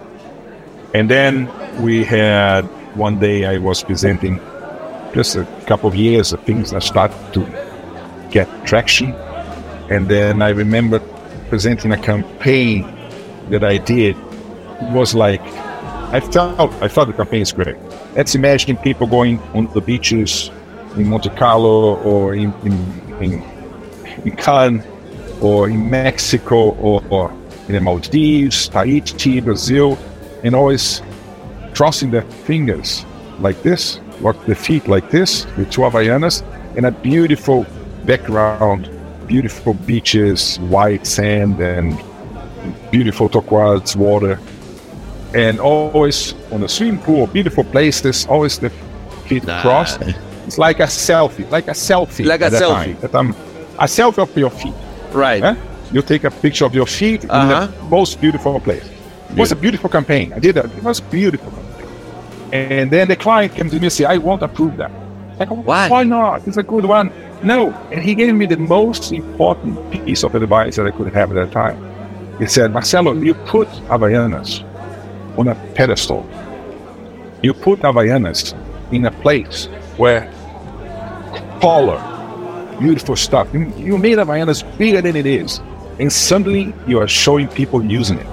And then we had, one day I was presenting just a couple of years of things that started to get traction. And then I remember presenting a campaign that I did. It was like, I felt, I thought the campaign is great. Let's imagine people going on the beaches in Monte Carlo or in, in, in, in Cannes or in Mexico or, or in the Maldives, Tahiti, Brazil, and always crossing their fingers like this, walk the feet like this, with two Havaianas, and a beautiful background, beautiful beaches, white sand, and beautiful turquoise water. And always on the swimming pool, beautiful places, always the feet nah. crossed. It's like a selfie, like a selfie. Like a selfie. That I'm, a selfie of your feet. Right. Eh? You take a picture of your feet uh-huh. in the most beautiful place. It was a beautiful campaign. I did that. It was a beautiful campaign. And then the client came to me and said, I won't approve that. Like, why? Why not? It's a good one. No. And he gave me the most important piece of advice that I could have at that time. He said, Marcelo, you put Havaianas on a pedestal. You put Havaianas in a place where color, beautiful stuff. You, you made Havaianas bigger than it is. And suddenly you are showing people using it.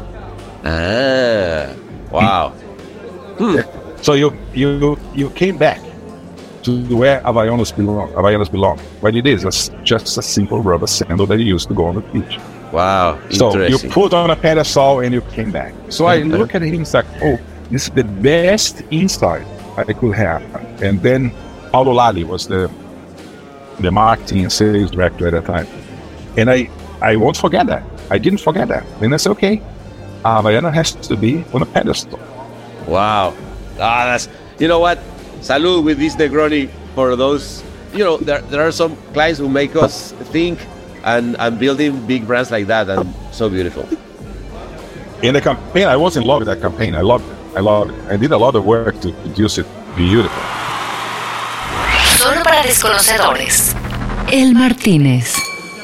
Ah, wow. Hmm. So you you you came back to where Havaianas belong. Havaianas belong. But it is a, just a simple rubber sandal that you use to go on the beach. Wow. Wow, So you interesting. put on a pedestal and you came back. So I look at him, it's like, oh, this is the best insight I could have. And then Paulo Lali was the the marketing and sales director at the time. And I, I won't forget that. I didn't forget that. And I said, okay, uh, Mariano has to be on a pedestal. Wow. Ah, that's, you know what? Salud with this Negroni for those, you know, there, there are some clients who make us think and, and building big brands like that, and so beautiful. In the campaign, I was in love with that campaign. I loved it. I loved it. I did a lot of work to produce it beautiful. Solo para desconocedores. El Martínez.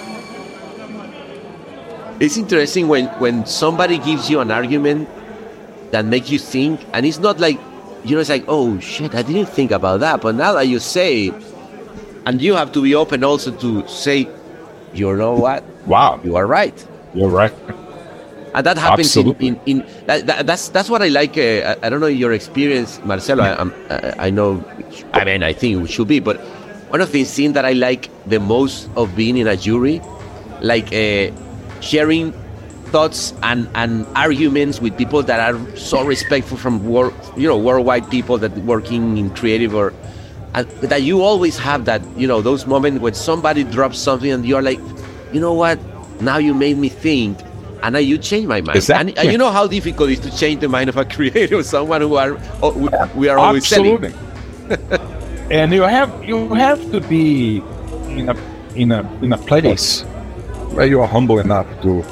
It's interesting when, when somebody gives you an argument that makes you think, and it's not like, you know, it's like, oh shit, I didn't think about that. But now that you say it, and you have to be open also to say, you know what? Wow. You are right. You're right. And that happens in, Absolutely. in, in that, that, that's that's what I like. Uh, I, I don't know your experience, Marcelo. I, I'm, I, I know, I mean, I think it should be, but one of the things that I like the most of being in a jury, like uh, sharing thoughts and, and arguments with people that are so respectful from work, you know, worldwide people that working in creative, or and that you always have that, you know, those moments when somebody drops something and you're like, you know what, now you made me think. And now you change my mind. Exactly. And, and you know how difficult it is to change the mind of a creator, someone who are oh, we, we are always Absolutely. selling. And you have you have to be in a in a in a place where you are humble enough to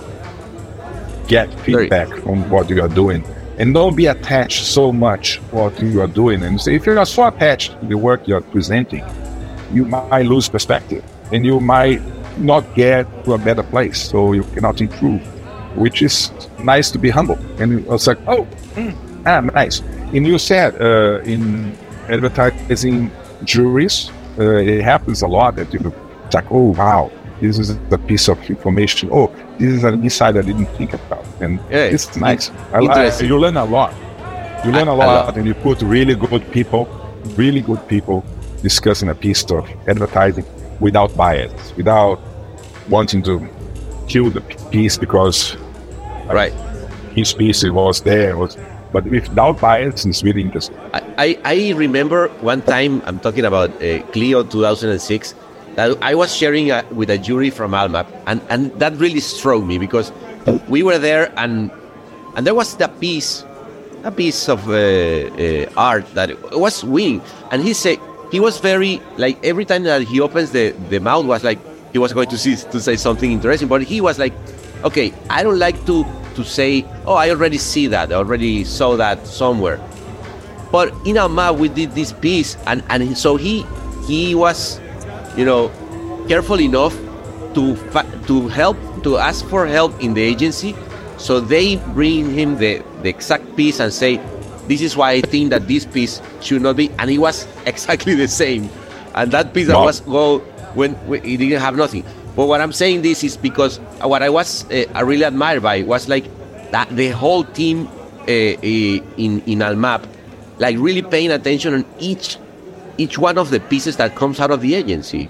get feedback from what you are doing, and don't be attached so much what you are doing. And so if you are so attached to the work you are presenting, you might lose perspective, and you might not get to a better place, so you cannot improve. Which is nice to be humble. And I was like, oh, mm, ah, nice. And you said uh, in advertising juries, uh, it happens a lot that you it's like, oh, wow, this is a piece of information. Oh, this is an insight I didn't think about. And Yeah, it's nice. I, interesting. I, you learn a lot. You learn I- a I lot, love- and you put really good people, really good people discussing a piece of advertising without bias, without wanting to kill the piece because Right. his piece was there, was, but without bias, it's really interesting. I, I, I remember one time, I'm talking about uh, Clio two thousand six, that I was sharing uh, with a jury from Almap, and, and that really struck me because we were there, and and there was that piece, a piece of uh, uh, art that was winning, and he said, he was very, like, every time that he opens the, the mouth was like, he was going to, see, to say something interesting, but he was like, okay, I don't like to, to say, oh, I already see that, I already saw that somewhere. But in Almap, we did this piece, and, and so he he was, you know, careful enough to fa- to help, to ask for help in the agency, so they bring him the, the exact piece and say, this is why I think that this piece should not be, and it was exactly the same. And that piece that Wow. was go when, when it didn't have nothing. But what I'm saying this is because what I was uh, I really admired by was like that the whole team uh, uh, in in Almap, like really paying attention on each each one of the pieces that comes out of the agency.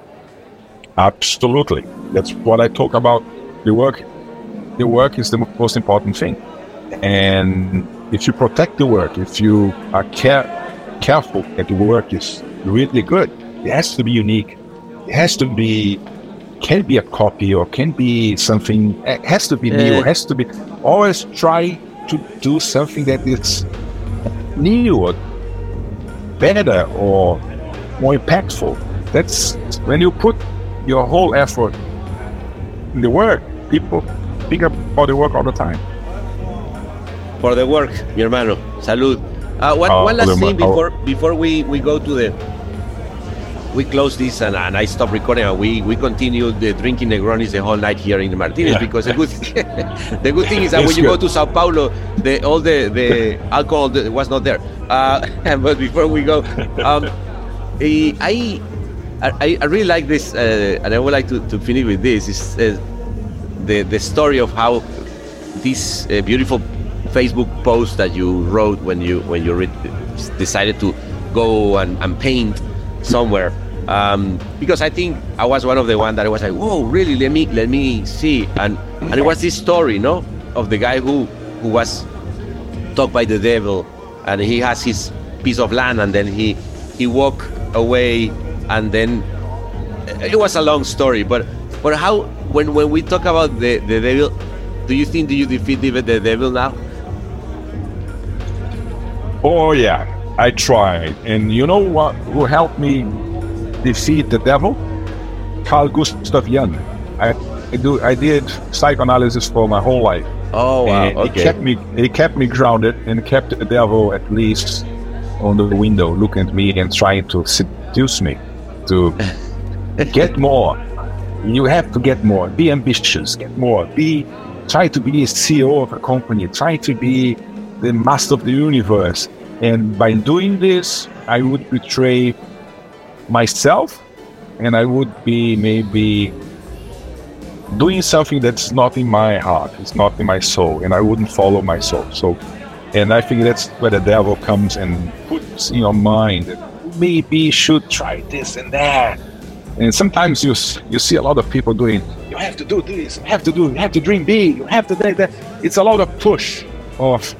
Absolutely. That's what I talk about. The work, the work is the most important thing. And if you protect the work, if you are care, careful that the work is really good, it has to be unique. It has to be, can't be a copy or can't be something, it has to be new. It has to be, always try to do something that is new or better or more impactful. That's when you put your whole effort in the work, people think about the work all the time. For the work, mi hermano. Salud. Uh, one, Oh, one last for the thing mo- before before we, we go to the we close this and, and I stop recording and we, we continue the drinking Negronis the whole night here in the Martinez, Yeah. because the good the good thing is that when It's you go good. to Sao Paulo, the all the, the alcohol that was not there. Uh, but before we go, um, eh, I, I I really like this, uh, and I would like to, to finish with this. Is uh, the the story of how this uh, beautiful Facebook post that you wrote when you when you re- decided to go and, and paint somewhere. Um, because I think I was one of the one that I was like, whoa, really? Let me let me see. And and it was this story, no, of the guy who who was took by the devil, and he has his piece of land, and then he he walked away, and then it was a long story. But but how when when we talk about the the devil, do you think do you defeat the, the devil now? Oh yeah, I tried, and you know what? Who helped me defeat the devil? Carl Gustav Jung. I, I do. I did psychoanalysis for my whole life. Oh wow! And Okay. It kept me. It kept me grounded and kept the devil at least on the window, looking at me and trying to seduce me to get more. You have to get more. Be ambitious. Get more. Be. Try to be a C E O of a company. Try to be the master of the universe. And by doing this, I would betray myself, and I would be maybe doing something that's not in my heart, it's not in my soul, and I wouldn't follow my soul. So, and I think that's where the devil comes and puts in your mind that maybe you should try this and that. And sometimes you s- you see a lot of people doing, you have to do this, you have to do, you have to dream big, you have to do that. It's a lot of push, of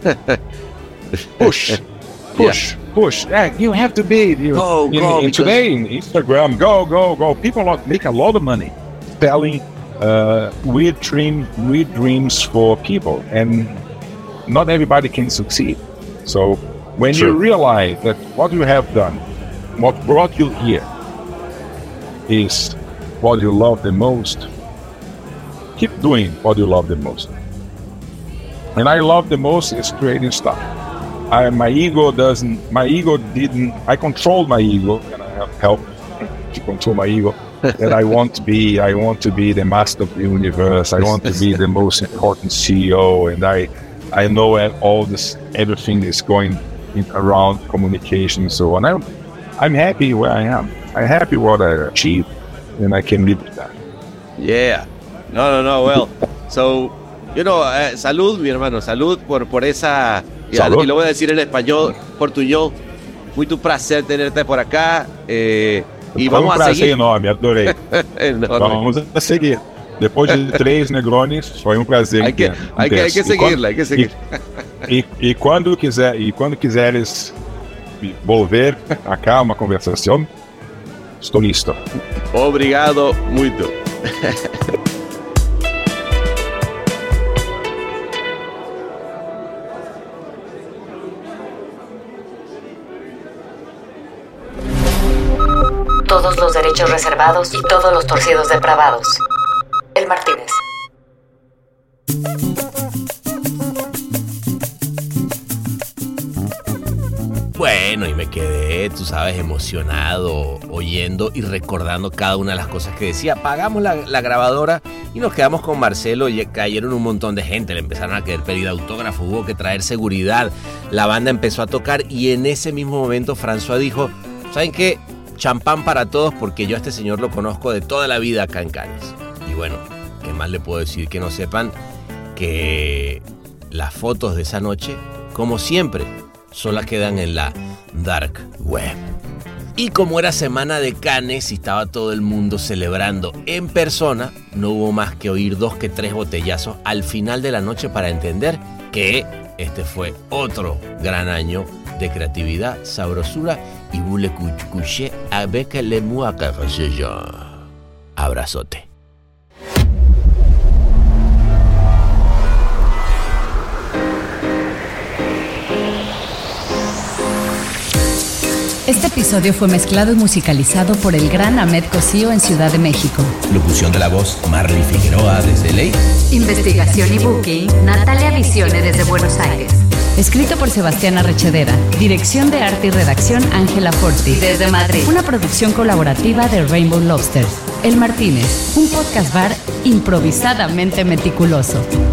push, push, push. Yeah, you have to be. You, Go, in, go, in because- today in Instagram, go, go, go. People are- make a lot of money selling uh, weird dream, weird dreams for people, and not everybody can succeed. So when you True. realize that what you have done, what brought you here, is what you love the most, keep doing what you love the most. And I love the most is creating stuff. I, my ego doesn't, my ego didn't, I controlled my ego, and I have help to control my ego. That I want to be, I want to be the master of the universe. I want to be the most important C E O, and I, I know all this, everything is going in, around communication and so on. I'm, I'm happy where I am. I'm happy what I achieved, and I can live with that. Yeah. No, no, no. Well, so, you know, eh, salud, mi hermano. Salud por, por esa... Y, Salud. y lo voy a decir en español, portuñol. Muy tu placer tenerte por acá. Eh, y Foi um vamos a prazer seguir. enorme, adorei. Enorme. Vamos a seguir. Depois de três Negronis, foi um prazer. Hay que, intenso. hay que, hay que E quando- seguirla, hay que seguir. E, e quando quiser, e quando quiseres volver acá uma conversação, estou listo. Obrigado muito. Todos los derechos reservados y todos los torcidos depravados. El Martínez. Bueno, y me quedé, tú sabes, emocionado, oyendo y recordando cada una de las cosas que decía. Apagamos la, la grabadora y nos quedamos con Marcelo, y cayeron un montón de gente, le empezaron a querer pedir autógrafo, hubo que traer seguridad, la banda empezó a tocar, y en ese mismo momento François dijo, ¿saben qué? Champán para todos, porque yo a este señor lo conozco de toda la vida acá en Cannes. Y bueno, ¿qué más le puedo decir? Que no sepan que las fotos de esa noche, como siempre, solo quedan en la dark web. Y como era semana de Cannes y estaba todo el mundo celebrando en persona, no hubo más que oír dos que tres botellazos al final de la noche para entender que este fue otro gran año de creatividad, sabrosura y voulez coucher avec les mois que je. Abrazote. Este episodio fue mezclado y musicalizado por el gran Ahmed Cosío en Ciudad de México. Locución de la voz, Marley Figueroa desde L A. Investigación y booking, Natalia Visione desde Buenos Aires. Escrito por Sebastián Arrechedera. Dirección de arte y redacción, Ángela Forti. Desde Madrid. Una producción colaborativa de Rainbow Lobster. El Martínez, un podcast bar improvisadamente meticuloso.